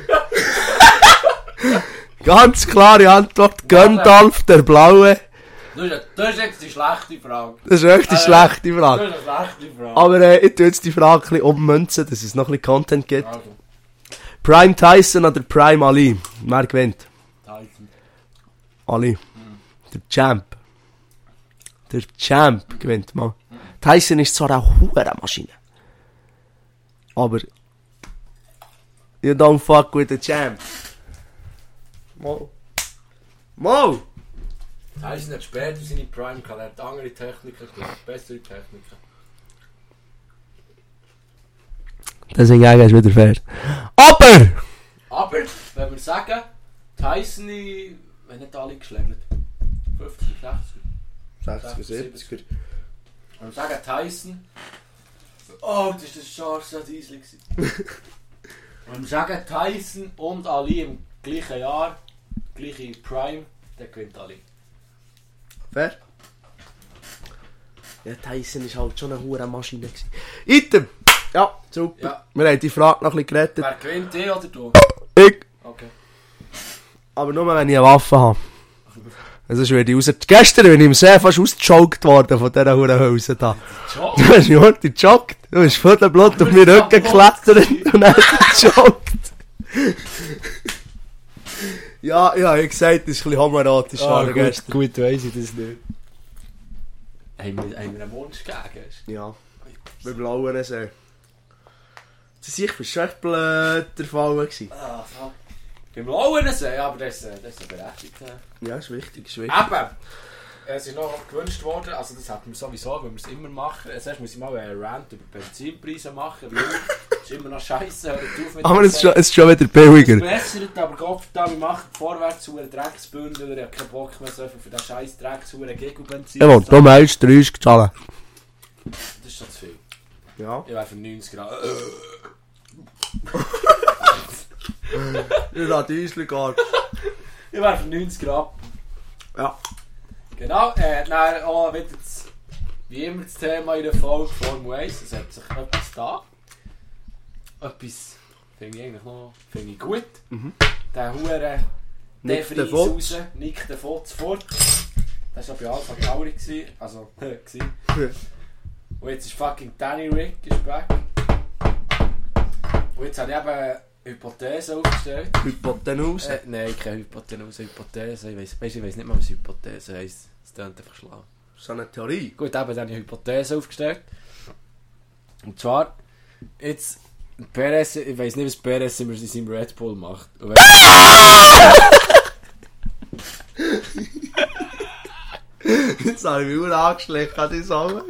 [SPEAKER 2] Ganz klare Antwort. Gandalf, der Blaue.
[SPEAKER 1] Das ist, das ist jetzt die schlechte Frage.
[SPEAKER 2] Das ist echt eine
[SPEAKER 1] Äh,
[SPEAKER 2] schlechte
[SPEAKER 1] Das
[SPEAKER 2] Frage.
[SPEAKER 1] ist eine schlechte Frage.
[SPEAKER 2] Aber äh, ich tue jetzt die Frage ein bisschen ummünzen, dass es noch ein bisschen Content gibt.
[SPEAKER 1] Also,
[SPEAKER 2] Prime Tyson oder Prime Ali? Wer gewinnt?
[SPEAKER 1] Tyson.
[SPEAKER 2] Ali. Der Champ. Der Champ gewinnt mal. Tyson ist zwar eine Hurenmaschine. Aber... You don't fuck with the Champ. Mal. Mal!
[SPEAKER 1] Tyson hat später seine Prime gehabt. Er hat andere Techniken gehabt. Bessere Techniken.
[SPEAKER 2] Deswegen ist wieder fair. Aber!
[SPEAKER 1] Aber, wenn wir sagen, Tyson, wenn nicht alle geschlägelt. fünfzig, sechzig.
[SPEAKER 2] sechziger, siebziger.
[SPEAKER 1] Wenn wir sagen Tyson. Oh, das war das Charles Diesel. Wenn wir sagen Tyson und Ali im gleichen Jahr, gleiche Prime, dann gewinnt Ali.
[SPEAKER 2] Fair? Ja, Tyson war halt schon eine Hurenmaschine. Item! Ja, super.
[SPEAKER 1] Ja.
[SPEAKER 2] Wir haben die Frage noch ein bisschen gerettet.
[SPEAKER 1] Wer gewinnt, ich oder du?
[SPEAKER 2] Ich.
[SPEAKER 1] Okay.
[SPEAKER 2] Aber nur wenn ich eine Waffe habe. Also sonst werde ich raus... Gestern bin ich im See fast ausgejoggt worden von dieser Hurenhülse da.
[SPEAKER 1] Ciao.
[SPEAKER 2] Du hast mich heute gejoggt. Du bist voll der Blut auf meinen Rücken geklettert und dann gejoggt. Ja, ja, ich gesagt, das ist ein bisschen homoerotisch
[SPEAKER 1] Ah,
[SPEAKER 2] geworden gestern.
[SPEAKER 1] gut weiss ich das nicht. Haben wir, haben wir einen Wunsch gegeben?
[SPEAKER 2] Ja, beim blauen See. Das war schon echt blöd der Fall gewesen.
[SPEAKER 1] Ah, fuck. Beim blauen See, ja, aber das, das ist berechtigt.
[SPEAKER 2] Ja, ist wichtig, ist wichtig.
[SPEAKER 1] Eben! Es ist noch gewünscht worden, also das hatten wir sowieso, wenn wir es immer machen. Zuerst muss ich mal einen Rant über Benzinpreise machen, weil es ist immer noch scheiße. Hört auf mit
[SPEAKER 2] Aber
[SPEAKER 1] dem
[SPEAKER 2] es ist schon,
[SPEAKER 1] Set.
[SPEAKER 2] es ist schon wieder
[SPEAKER 1] Es
[SPEAKER 2] billiger.
[SPEAKER 1] bessert, aber Gott verdammt, wir machen vorwärts zu einem Drecksbündel. Ich habe keinen Bock mehr so viel für den scheiß Drecks zu einem Gigobenzin.
[SPEAKER 2] Jawohl, da meist dreißig zahlen.
[SPEAKER 1] Das ist schon zu viel.
[SPEAKER 2] Ja.
[SPEAKER 1] Ich wäre für neunzig Grad.
[SPEAKER 2] Ich habe Diesel gehabt.
[SPEAKER 1] Ich wäre für neunzig Grad.
[SPEAKER 2] Ja.
[SPEAKER 1] Genau, äh, dann auch wieder das, wie immer das Thema in der Folge Formel eins. Es hat sich etwas da. Etwas finde ich eigentlich noch finde ich gut.
[SPEAKER 2] Mhm.
[SPEAKER 1] Der Hure
[SPEAKER 2] Nick
[SPEAKER 1] Fries
[SPEAKER 2] de Vos.
[SPEAKER 1] raus, Nick de Vos fort. Das war bei Alpha Tauri. Gewesen. Also, gewesen. Und jetzt ist fucking Danny Rick ist back. Und jetzt habe ich eben eine Hypothese aufgestellt.
[SPEAKER 2] Hypotenuse.
[SPEAKER 1] Äh, nein, keine Hypothese, Hypothese. Ich weiss, weißt, ich weiss nicht mal, was Hypothese heisst. Es klingt einfach schlau.
[SPEAKER 2] So eine Theorie.
[SPEAKER 1] Gut, eben dann habe ich eine Hypothese aufgestellt. Und zwar, jetzt, Perez, ich weiss nicht, was Perez immer in seinem Red Bull macht. Und wenn,
[SPEAKER 2] Jetzt habe ich mich nur angeschleckt an die Sonne.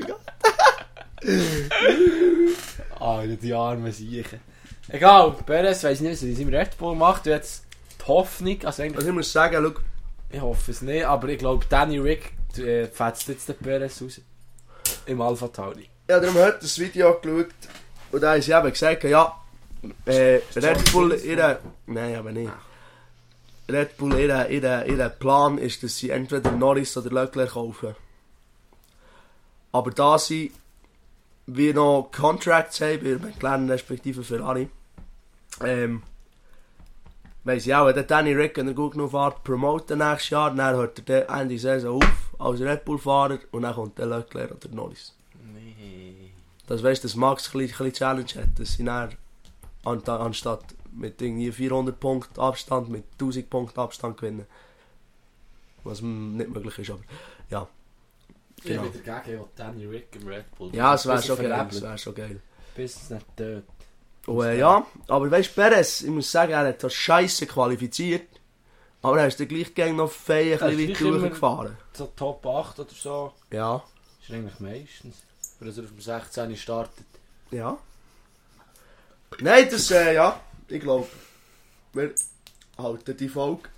[SPEAKER 1] ah, die armen Siechen. Egal, Perez weiss nicht, was er in seinem Red Bull macht. Und jetzt die Hoffnung, also eigentlich,
[SPEAKER 2] Also ich muss sagen, schau,
[SPEAKER 1] ich hoffe es nicht, aber ich glaube, Danny Rick äh, fetzt jetzt den Perez raus. Im Alpha Tauri.
[SPEAKER 2] ich habe darum heute das Video angeschaut und da haben sie eben gesagt, ja, äh, Red Bull, ihre... Nein, aber nicht. Red Bull, ihr, ihr, ihr Plan ist, dass sie entweder Norris oder Leclerc kaufen. Aber da sie wir noch Contracts haben, bei McLaren respektive Ferrari, ähm, weiss ich auch, wenn der Danny Rick, wenn er gut genug fährt, promoten nächstes Jahr, dann hört er Ende der Saison auf als Red Bull-Fahrer und dann kommt der Leclerc oder Norris.
[SPEAKER 1] Nee.
[SPEAKER 2] Das weißt dass Max ein bisschen Challenge hat, dass sie dann an, anstatt mit irgendwie vierhundert Punkten Abstand, mit tausend Punkten Abstand gewinnen. Was nicht möglich ist, aber ja. Genau.
[SPEAKER 1] Ich bin dagegen, auch Danny Rick im Red Bull.
[SPEAKER 2] Ja, es wäre
[SPEAKER 1] Bis
[SPEAKER 2] schon
[SPEAKER 1] er
[SPEAKER 2] geil.
[SPEAKER 1] verlebt.
[SPEAKER 2] Es wäre schon geil.
[SPEAKER 1] Bis es nicht tot.
[SPEAKER 2] Und, äh, ja, aber weißt du, Perez, ich muss sagen, er hat das Scheiße qualifiziert. Aber er ist dann gleich gegen noch fein ein bisschen weit durchgefahren.
[SPEAKER 1] So Top acht oder so.
[SPEAKER 2] Ja.
[SPEAKER 1] Ist eigentlich meistens. Wenn er auf dem sechzehn startet.
[SPEAKER 2] Ja. Nein, das, äh, ja, ich glaube, wir halten die Folge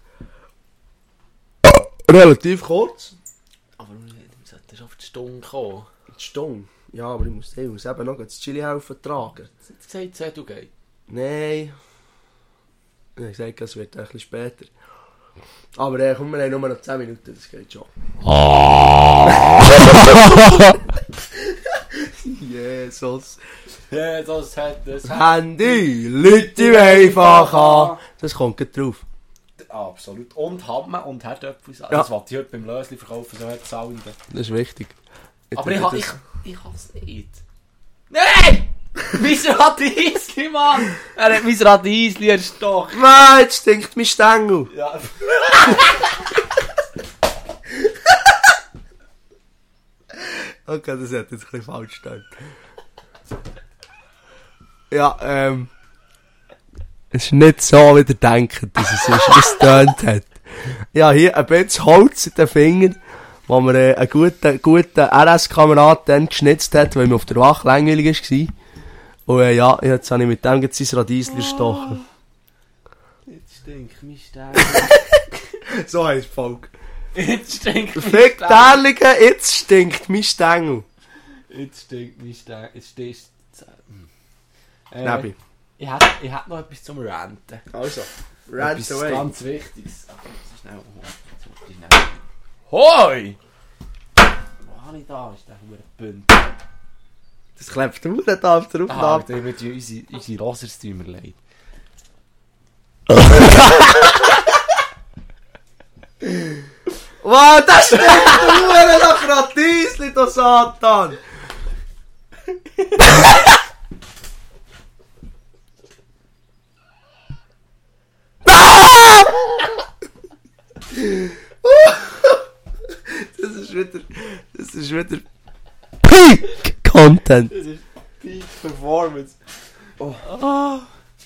[SPEAKER 2] relativ kurz.
[SPEAKER 1] Aber du solltest auf die Stunde kommen.
[SPEAKER 2] Die Stunde? Ja, aber ich muss, ich muss eben noch das Chili helfen tragen.
[SPEAKER 1] Du hast gesagt, zehn du gehst.
[SPEAKER 2] Nein. Ich habe gesagt, es wird ein bisschen später. Aber äh, komm, wir haben nur noch zehn Minuten, das geht schon. Jesus.
[SPEAKER 1] Ja, das hat das.
[SPEAKER 2] Handy, Leute einfach an. Das kommt gleich drauf.
[SPEAKER 1] Absolut. Und Hamme und Herdöpfel.
[SPEAKER 2] Ja.
[SPEAKER 1] Das wollte ich heute beim Lösli verkaufen, so hört es auch nicht.
[SPEAKER 2] Das ist wichtig.
[SPEAKER 1] Aber ich, ha, ich, ich hab's nicht. Nein! Mein Radiesli, Mann! Er hat mein Radiesli erstochen.
[SPEAKER 2] Nein, jetzt stinkt mein Stängel.
[SPEAKER 1] Ja.
[SPEAKER 2] Okay, das hat jetzt ein bisschen falsch gestanden. Ja, ähm... Es ist nicht so, wie ihr denkt, dass es ist, wie es getönt hat. Ja, hier ein bisschen Holz in den Fingern, wo mir äh, ein guter, guter R S-Kamerad dann geschnitzt hat, weil mir auf der Wache langweilig war. Und äh, ja, jetzt habe ich mit dem jetzt sein Radiesli erstochen.
[SPEAKER 1] Jetzt stinkt mein Stein.
[SPEAKER 2] So heisst die Folge.
[SPEAKER 1] Jetzt stinkt mein
[SPEAKER 2] Fick
[SPEAKER 1] Stein.
[SPEAKER 2] Derlige, jetzt stinkt mein Stängel.
[SPEAKER 1] Jetzt stinkt mein Stein. Jetzt stehst du... Äh,
[SPEAKER 2] Nebi.
[SPEAKER 1] ich hätte ich hätt noch etwas zum Ranten.
[SPEAKER 2] Also, rant
[SPEAKER 1] Etwas
[SPEAKER 2] away.
[SPEAKER 1] ganz Wichtiges. Ach, so schnell. Oh, so schnell. Hoi! Wo habe ich da? Ist der Hurenbünd.
[SPEAKER 2] Das klebt du nicht auf der
[SPEAKER 1] Ah,
[SPEAKER 2] Aufnahme.
[SPEAKER 1] da wird ja unsere, unsere Rosers tun mir leid.
[SPEAKER 2] Wow, das stinkt nur nach Radiesli, du Satan! Das ist wieder... Das ist wieder... Peak Content!
[SPEAKER 1] Das ist Peak Performance.
[SPEAKER 2] Oh.
[SPEAKER 1] Ah.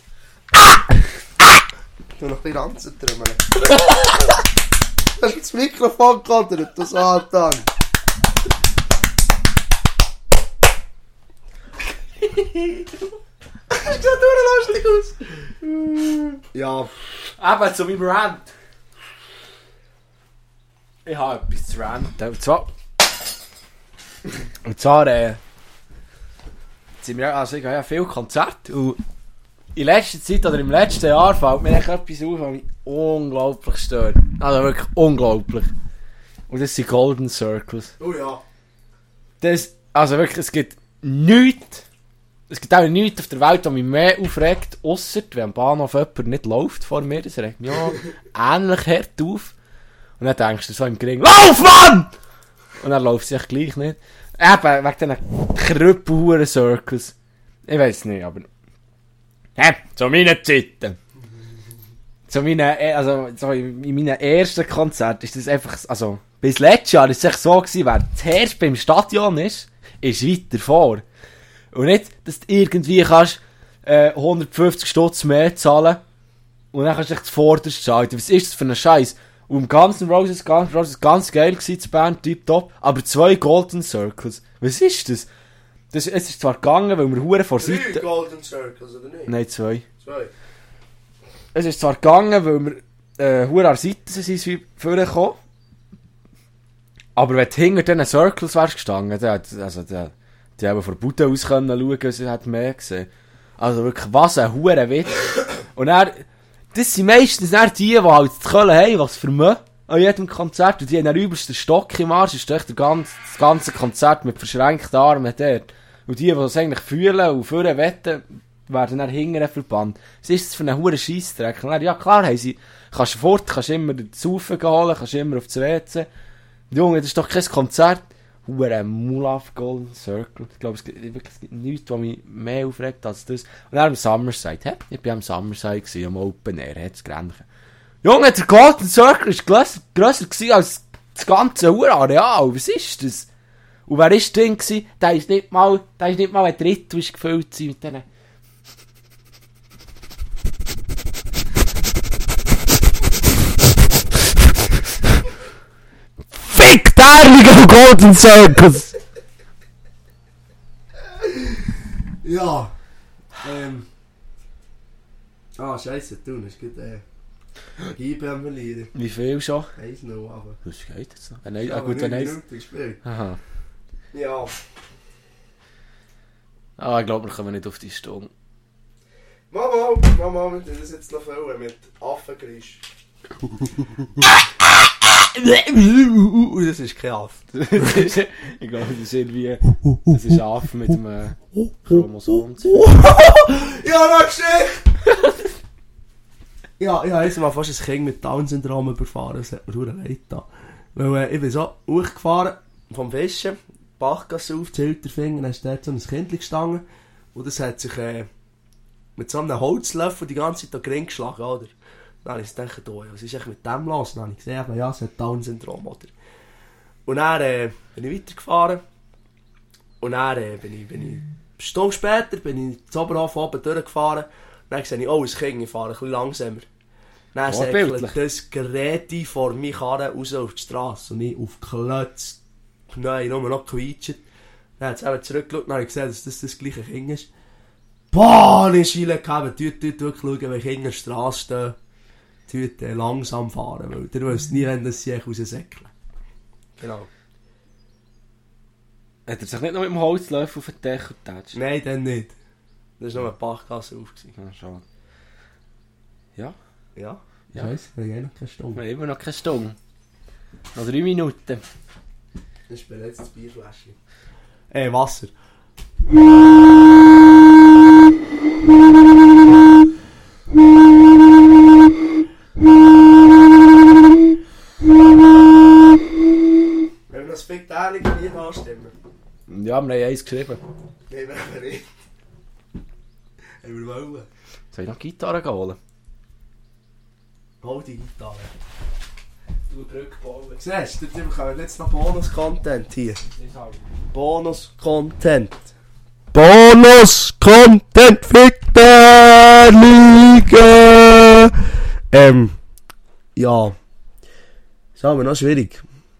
[SPEAKER 2] Du noch ein bisschen Ranzen trümmeln. Du hast das Mikrofon gekodert, du Satan! Das sieht nur lustig aus! Ja.
[SPEAKER 1] Eben zu meinem Rant. Ich habe etwas zu ranten. Und zwar... Und zwar, äh... Sind wir, also ich habe ja viele Konzerte und in letzter Zeit oder im letzten Jahr fällt mir echt etwas auf, was mich unglaublich stört. Also wirklich unglaublich. Und das sind Golden Circles.
[SPEAKER 2] Oh ja.
[SPEAKER 1] Das, also wirklich, es gibt nichts, es gibt auch nichts auf der Welt, das mich mehr aufregt, ausser wenn am Bahnhof jemand nicht läuft vor mir, das regt mich auch ähnlich hart auf. Und dann denkst du so im Gring, lauf, Mann! Und dann läuft es sich gleich nicht. Eben, wegen diesen krüppelhuren Circles. Ich weiss nicht, aber... Hä? Zu meinen Zeiten. Zu meinen, also, so in in meinen ersten Konzerten ist das einfach, also, bis letztes Jahr ist es echt so gewesen, wer zuerst beim Stadion ist, ist weiter vor. Und nicht, dass du irgendwie kannst, äh, hundertfünfzig Stutz mehr zahlen und dann kannst du dich zuvorderst schalten. Was ist das für ein Scheiß? Und im ganzen Roses, Guns N' Roses, ganz geil gewesen, die Band, tipptopp, aber zwei Golden Circles. Was ist das? das es ist zwar gegangen, weil wir hure vor
[SPEAKER 2] Drei
[SPEAKER 1] Seite...
[SPEAKER 2] Golden Circles, oder nicht?
[SPEAKER 1] Nein, zwei.
[SPEAKER 2] Zwei.
[SPEAKER 1] Es ist zwar gegangen, weil wir äh, hure an der Seite sind, wie vorgekommen. Aber wenn du hinter diesen Circles wärst gestanden, dann hat, also, der, die haben von der Bude aus können schauen, sie hat mehr gesehen. Also wirklich, was ein hure Witz. Und er, das sind meistens nicht die, die halt die Köln haben, was vermögen an jedem Konzert. Und die haben den übelsten Stock im Arsch, ist echt der ganze, das ganze Konzert mit verschränkten Armen dort. Und die, die es eigentlich fühlen und vorne wetten, werden dann hinterher verbannt. Was ist das für ein hoher Scheissdreck? Ja klar, haben sie, kannst du fort, kannst immer den Saufen holen, kannst immer auf das W C. Junge, das ist doch kein Konzert. Hure Mulaf Golden Circle. Ich glaube, es gibt, es gibt nichts, was mich mehr aufregt als das. Und dann am Summerside. Hä? Ich war am Summerside, gewesen, am Open Air, hat's Grenchen. Junge, der Golden Circle war grösser, grösser gewesen als das ganze Urareal. Was ist das? Und wer war drin gewesen? Der ist nicht mal, der ist nicht mal ein Drittel gefüllt mit diesen... Fick der Golden Circus!
[SPEAKER 2] Ja. Ähm. Ah, scheisse, du hast gut, äh. Geibe am Verlieren.
[SPEAKER 1] Wie viel schon?
[SPEAKER 2] eins null, aber.
[SPEAKER 1] Was geht jetzt noch? Nein, ah, gut, wenn eins. Aha.
[SPEAKER 2] Ja.
[SPEAKER 1] Ah, ich glaube, wir kommen nicht auf die Stunde.
[SPEAKER 2] Mama, Mama, wir tun das jetzt noch füllen mit Affengeräusch. Das ist kein Affe.
[SPEAKER 1] Ich glaube, das ist irgendwie. Das ist ein Affe mit einem Chromosom.
[SPEAKER 2] Ja, noch Geschichte! Ja, ich habe jetzt mal fast ein Kind mit Down-Syndrom überfahren. Das hat mir verdammt leid getan. Weil äh, ich bin so hochgefahren vom Fischen, Bachgasse auf, Zilterfinger, dann ist dort so ein Kind gestanden. Und das hat sich äh, mit so einem Holzlöffel die ganze Zeit an den Ring geschlagen, oder? Dann habe ich gedacht, oh, was ist eigentlich mit dem los? Dann habe ich gesehen, ja, es hat Down-Syndrom, oder? Und dann äh, bin ich weitergefahren. Und dann äh, bin ich, bin ich, eine Stunde später bin ich zu Oberhof oben durchgefahren. Dann sehe ich, oh, ein Kind, ich fahre ein bisschen langsamer. Dann säckelt das Gerät vor mir Karre raus auf die Straße. Und ich auf Klötz, nein, nur noch quietscht. Dann hat es eben zurückgeschaut und habe ich gesehen, dass das das gleiche Kind ist. Boah, ich schiele gehabt, dort, dort wirklich schauen, wenn Kinder auf der Straße stehen. Dort äh, langsam fahren, weil ihr wisst nie, wenn das sich raussäckeln. Genau.
[SPEAKER 1] Hat er sich nicht noch mit dem Holzlöffel auf den Deckel getatscht?
[SPEAKER 2] Nein, dann nicht. Das war noch eine Bachgasse auf.
[SPEAKER 1] Ja, schade. Ja?
[SPEAKER 2] Ja?
[SPEAKER 1] Ja.
[SPEAKER 2] Scheiße, wir haben eh noch keine Stunde.
[SPEAKER 1] Wir haben immer noch keine Stunde. Noch drei Minuten.
[SPEAKER 2] Das ist bereits das Bierfläschchen. Äh, Wasser. Wenn wir das Spektakel Lied anstimmen.
[SPEAKER 1] Ja, wir haben eins geschrieben.
[SPEAKER 2] Nein, wir haben nicht. Haben wir wollen.
[SPEAKER 1] Soll ich noch Gitarre holen?
[SPEAKER 2] Hol die Gitarre. Du Brücke bauen. Siehst du, wir haben jetzt noch Bonus-Content hier. Bonus-Content. Bonus-Content für die Liga. Ähm, ja. Das ist aber noch schwierig.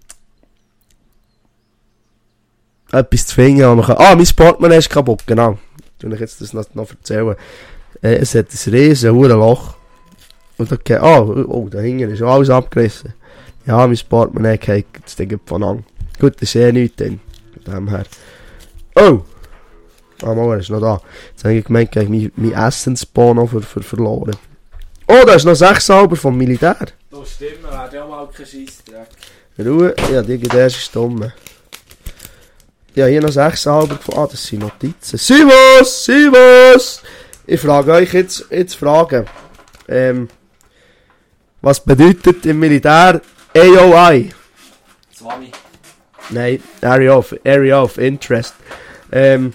[SPEAKER 2] Etwas zu finden, wo man kann... Ah, mein Portemonnaie ist kaputt, genau. Ich will jetzt das noch, noch erzählen. Äh, es hat ein riesen Loch. Und da geht... Ah, oh, da hinten ist alles abgerissen. Ja, mein Portemonnaie geht das Ding von an. Gut, das ist eh nichts dann. Von dem her. Oh! Ah, mal, er ist noch da. Jetzt habe ich gemeint, ich habe mein, mein Essensbono für, für verloren. Oh, da ist noch sechs Alber vom Militär.
[SPEAKER 1] Das stimmt, wir werden ja mal keinen Scheissdreck.
[SPEAKER 2] Ruhe, ja, die geht erst stumm. Ja, hier noch sechs Alber gefunden. Ah, das sind Notizen. Servus! Servus! Ich frage euch jetzt, jetzt Fragen. Ähm, was bedeutet im Militär A O I?
[SPEAKER 1] Swami.
[SPEAKER 2] Nein, Area of, Area of Interest. Ähm,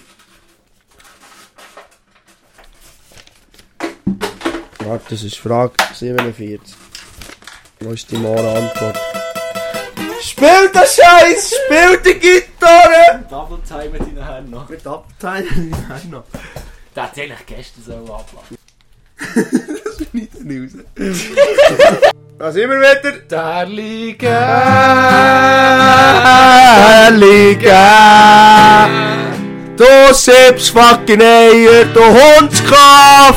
[SPEAKER 2] warte, das ist Frage siebenundvierzig. Wo ist die Mora-Antwort? Spielt der Scheiß! Spielt die Gitarre!
[SPEAKER 1] Double Time mit deinen Händen noch.
[SPEAKER 2] Mit Abteilen mit deinen Händen noch.
[SPEAKER 1] Der hat eigentlich gestern so ablassen.
[SPEAKER 2] Das ist nicht raus. Da sind wir wieder.
[SPEAKER 1] Der Liga.
[SPEAKER 2] Der Liga. Du siebst fucking Eier, du Hundskopf.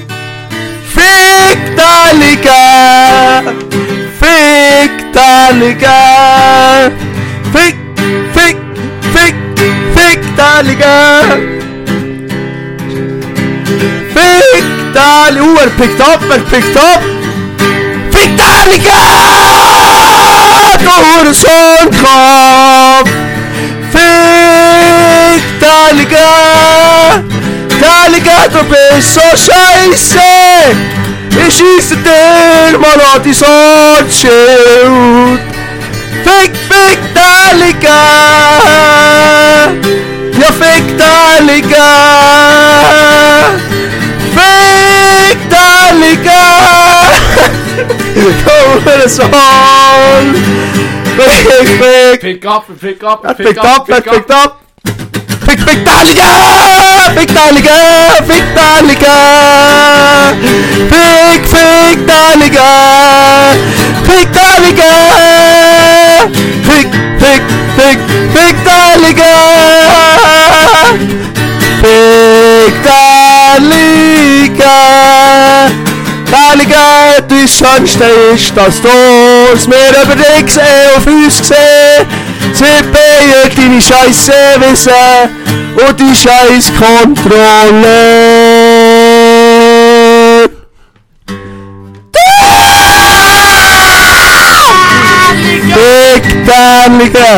[SPEAKER 2] Fick der Liga. Fick der Liga. Fick, fick, fick, fick der Liga. Fick der Dali, uh, er pickt up, er pickt up! Fick Daliga! Du Hurensohnkopf! Fick Daliga! Daliga, du bist so scheiße! Ich schieße dir mal an die Sortschild! Fick, fick Daliga! Ja, fick Daliga! Fick Daliga! Du Hurensohn! Fick, fick!
[SPEAKER 1] Pick up, pick up,
[SPEAKER 2] Er pickt up, er pickt up! Fick, fick Daliga! Fick Daliga! Fick Daliga! Fick, fick Daliga! Fick Daliga! Fick, fick, fick, fick Daliga! Fick Daliga! Daliga, du Schönste ist, dass du es mir über dich gesehen, auf uns gesehen. Sie beide deine Scheisse wissen und die Scheiß Kontrolle. Fick Daliga!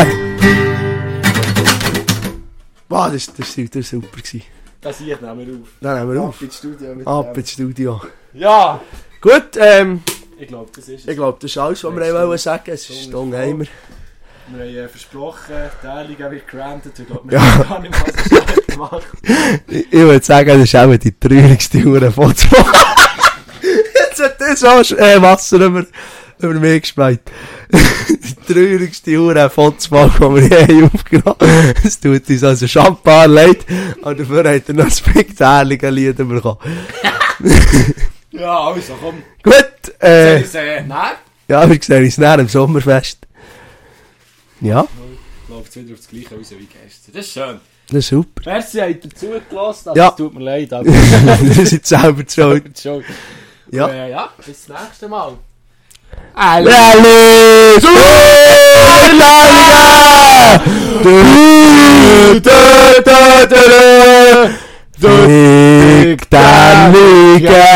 [SPEAKER 2] Wow, das war das, das super.
[SPEAKER 1] Das hier nehmen wir auf.
[SPEAKER 2] Dann nehmen wir auf.
[SPEAKER 1] Ab ins Studio mit
[SPEAKER 2] Ab
[SPEAKER 1] dem.
[SPEAKER 2] ins Studio.
[SPEAKER 1] Ja!
[SPEAKER 2] Gut, ähm,
[SPEAKER 1] Ich glaube, das ist es.
[SPEAKER 2] ich glaube, das ist alles, was wir
[SPEAKER 1] Nächste
[SPEAKER 2] wollen sagen. Es ist Stunde haben wir.
[SPEAKER 1] Wir haben äh, versprochen, die Liga wird granted. Ich glaube,
[SPEAKER 2] Ja.
[SPEAKER 1] wir haben gar nicht mal so schlecht gemacht.
[SPEAKER 2] Ich, ich würde sagen, das ist auch die traurigste Hure Foto. Jetzt hat das auch äh, Wasser über, über mich gespeit. Die traurigste Hure Foto, die wir je aufgenommen haben. Es tut uns also Champagner leid, aber dafür hat er noch ein spektakuläres Lied bekommen.
[SPEAKER 1] Ja, also komm.
[SPEAKER 2] Gut, äh,
[SPEAKER 1] Äh, äh, nein.
[SPEAKER 2] ja, wir sehen uns näher im Sommerfest. Ja,
[SPEAKER 1] Ich glaube, jetzt wieder auf das Gleiche raus wie gestern. Das ist schön.
[SPEAKER 2] das ist super.
[SPEAKER 1] Merci, habt ihr zugelassen. Also,
[SPEAKER 2] Ja.
[SPEAKER 1] Es tut mir leid, aber
[SPEAKER 2] Wir sind selber schuld.
[SPEAKER 1] schon.
[SPEAKER 2] Ja.
[SPEAKER 1] Äh, ja, bis das nächste Mal.
[SPEAKER 2] Rally! Superliga! Du, du, du, du, du. Fick der Liga!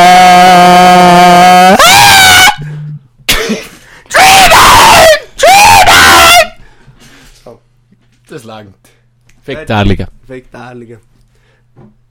[SPEAKER 1] Das langt. Fick der Liga.
[SPEAKER 2] Fick der Liga.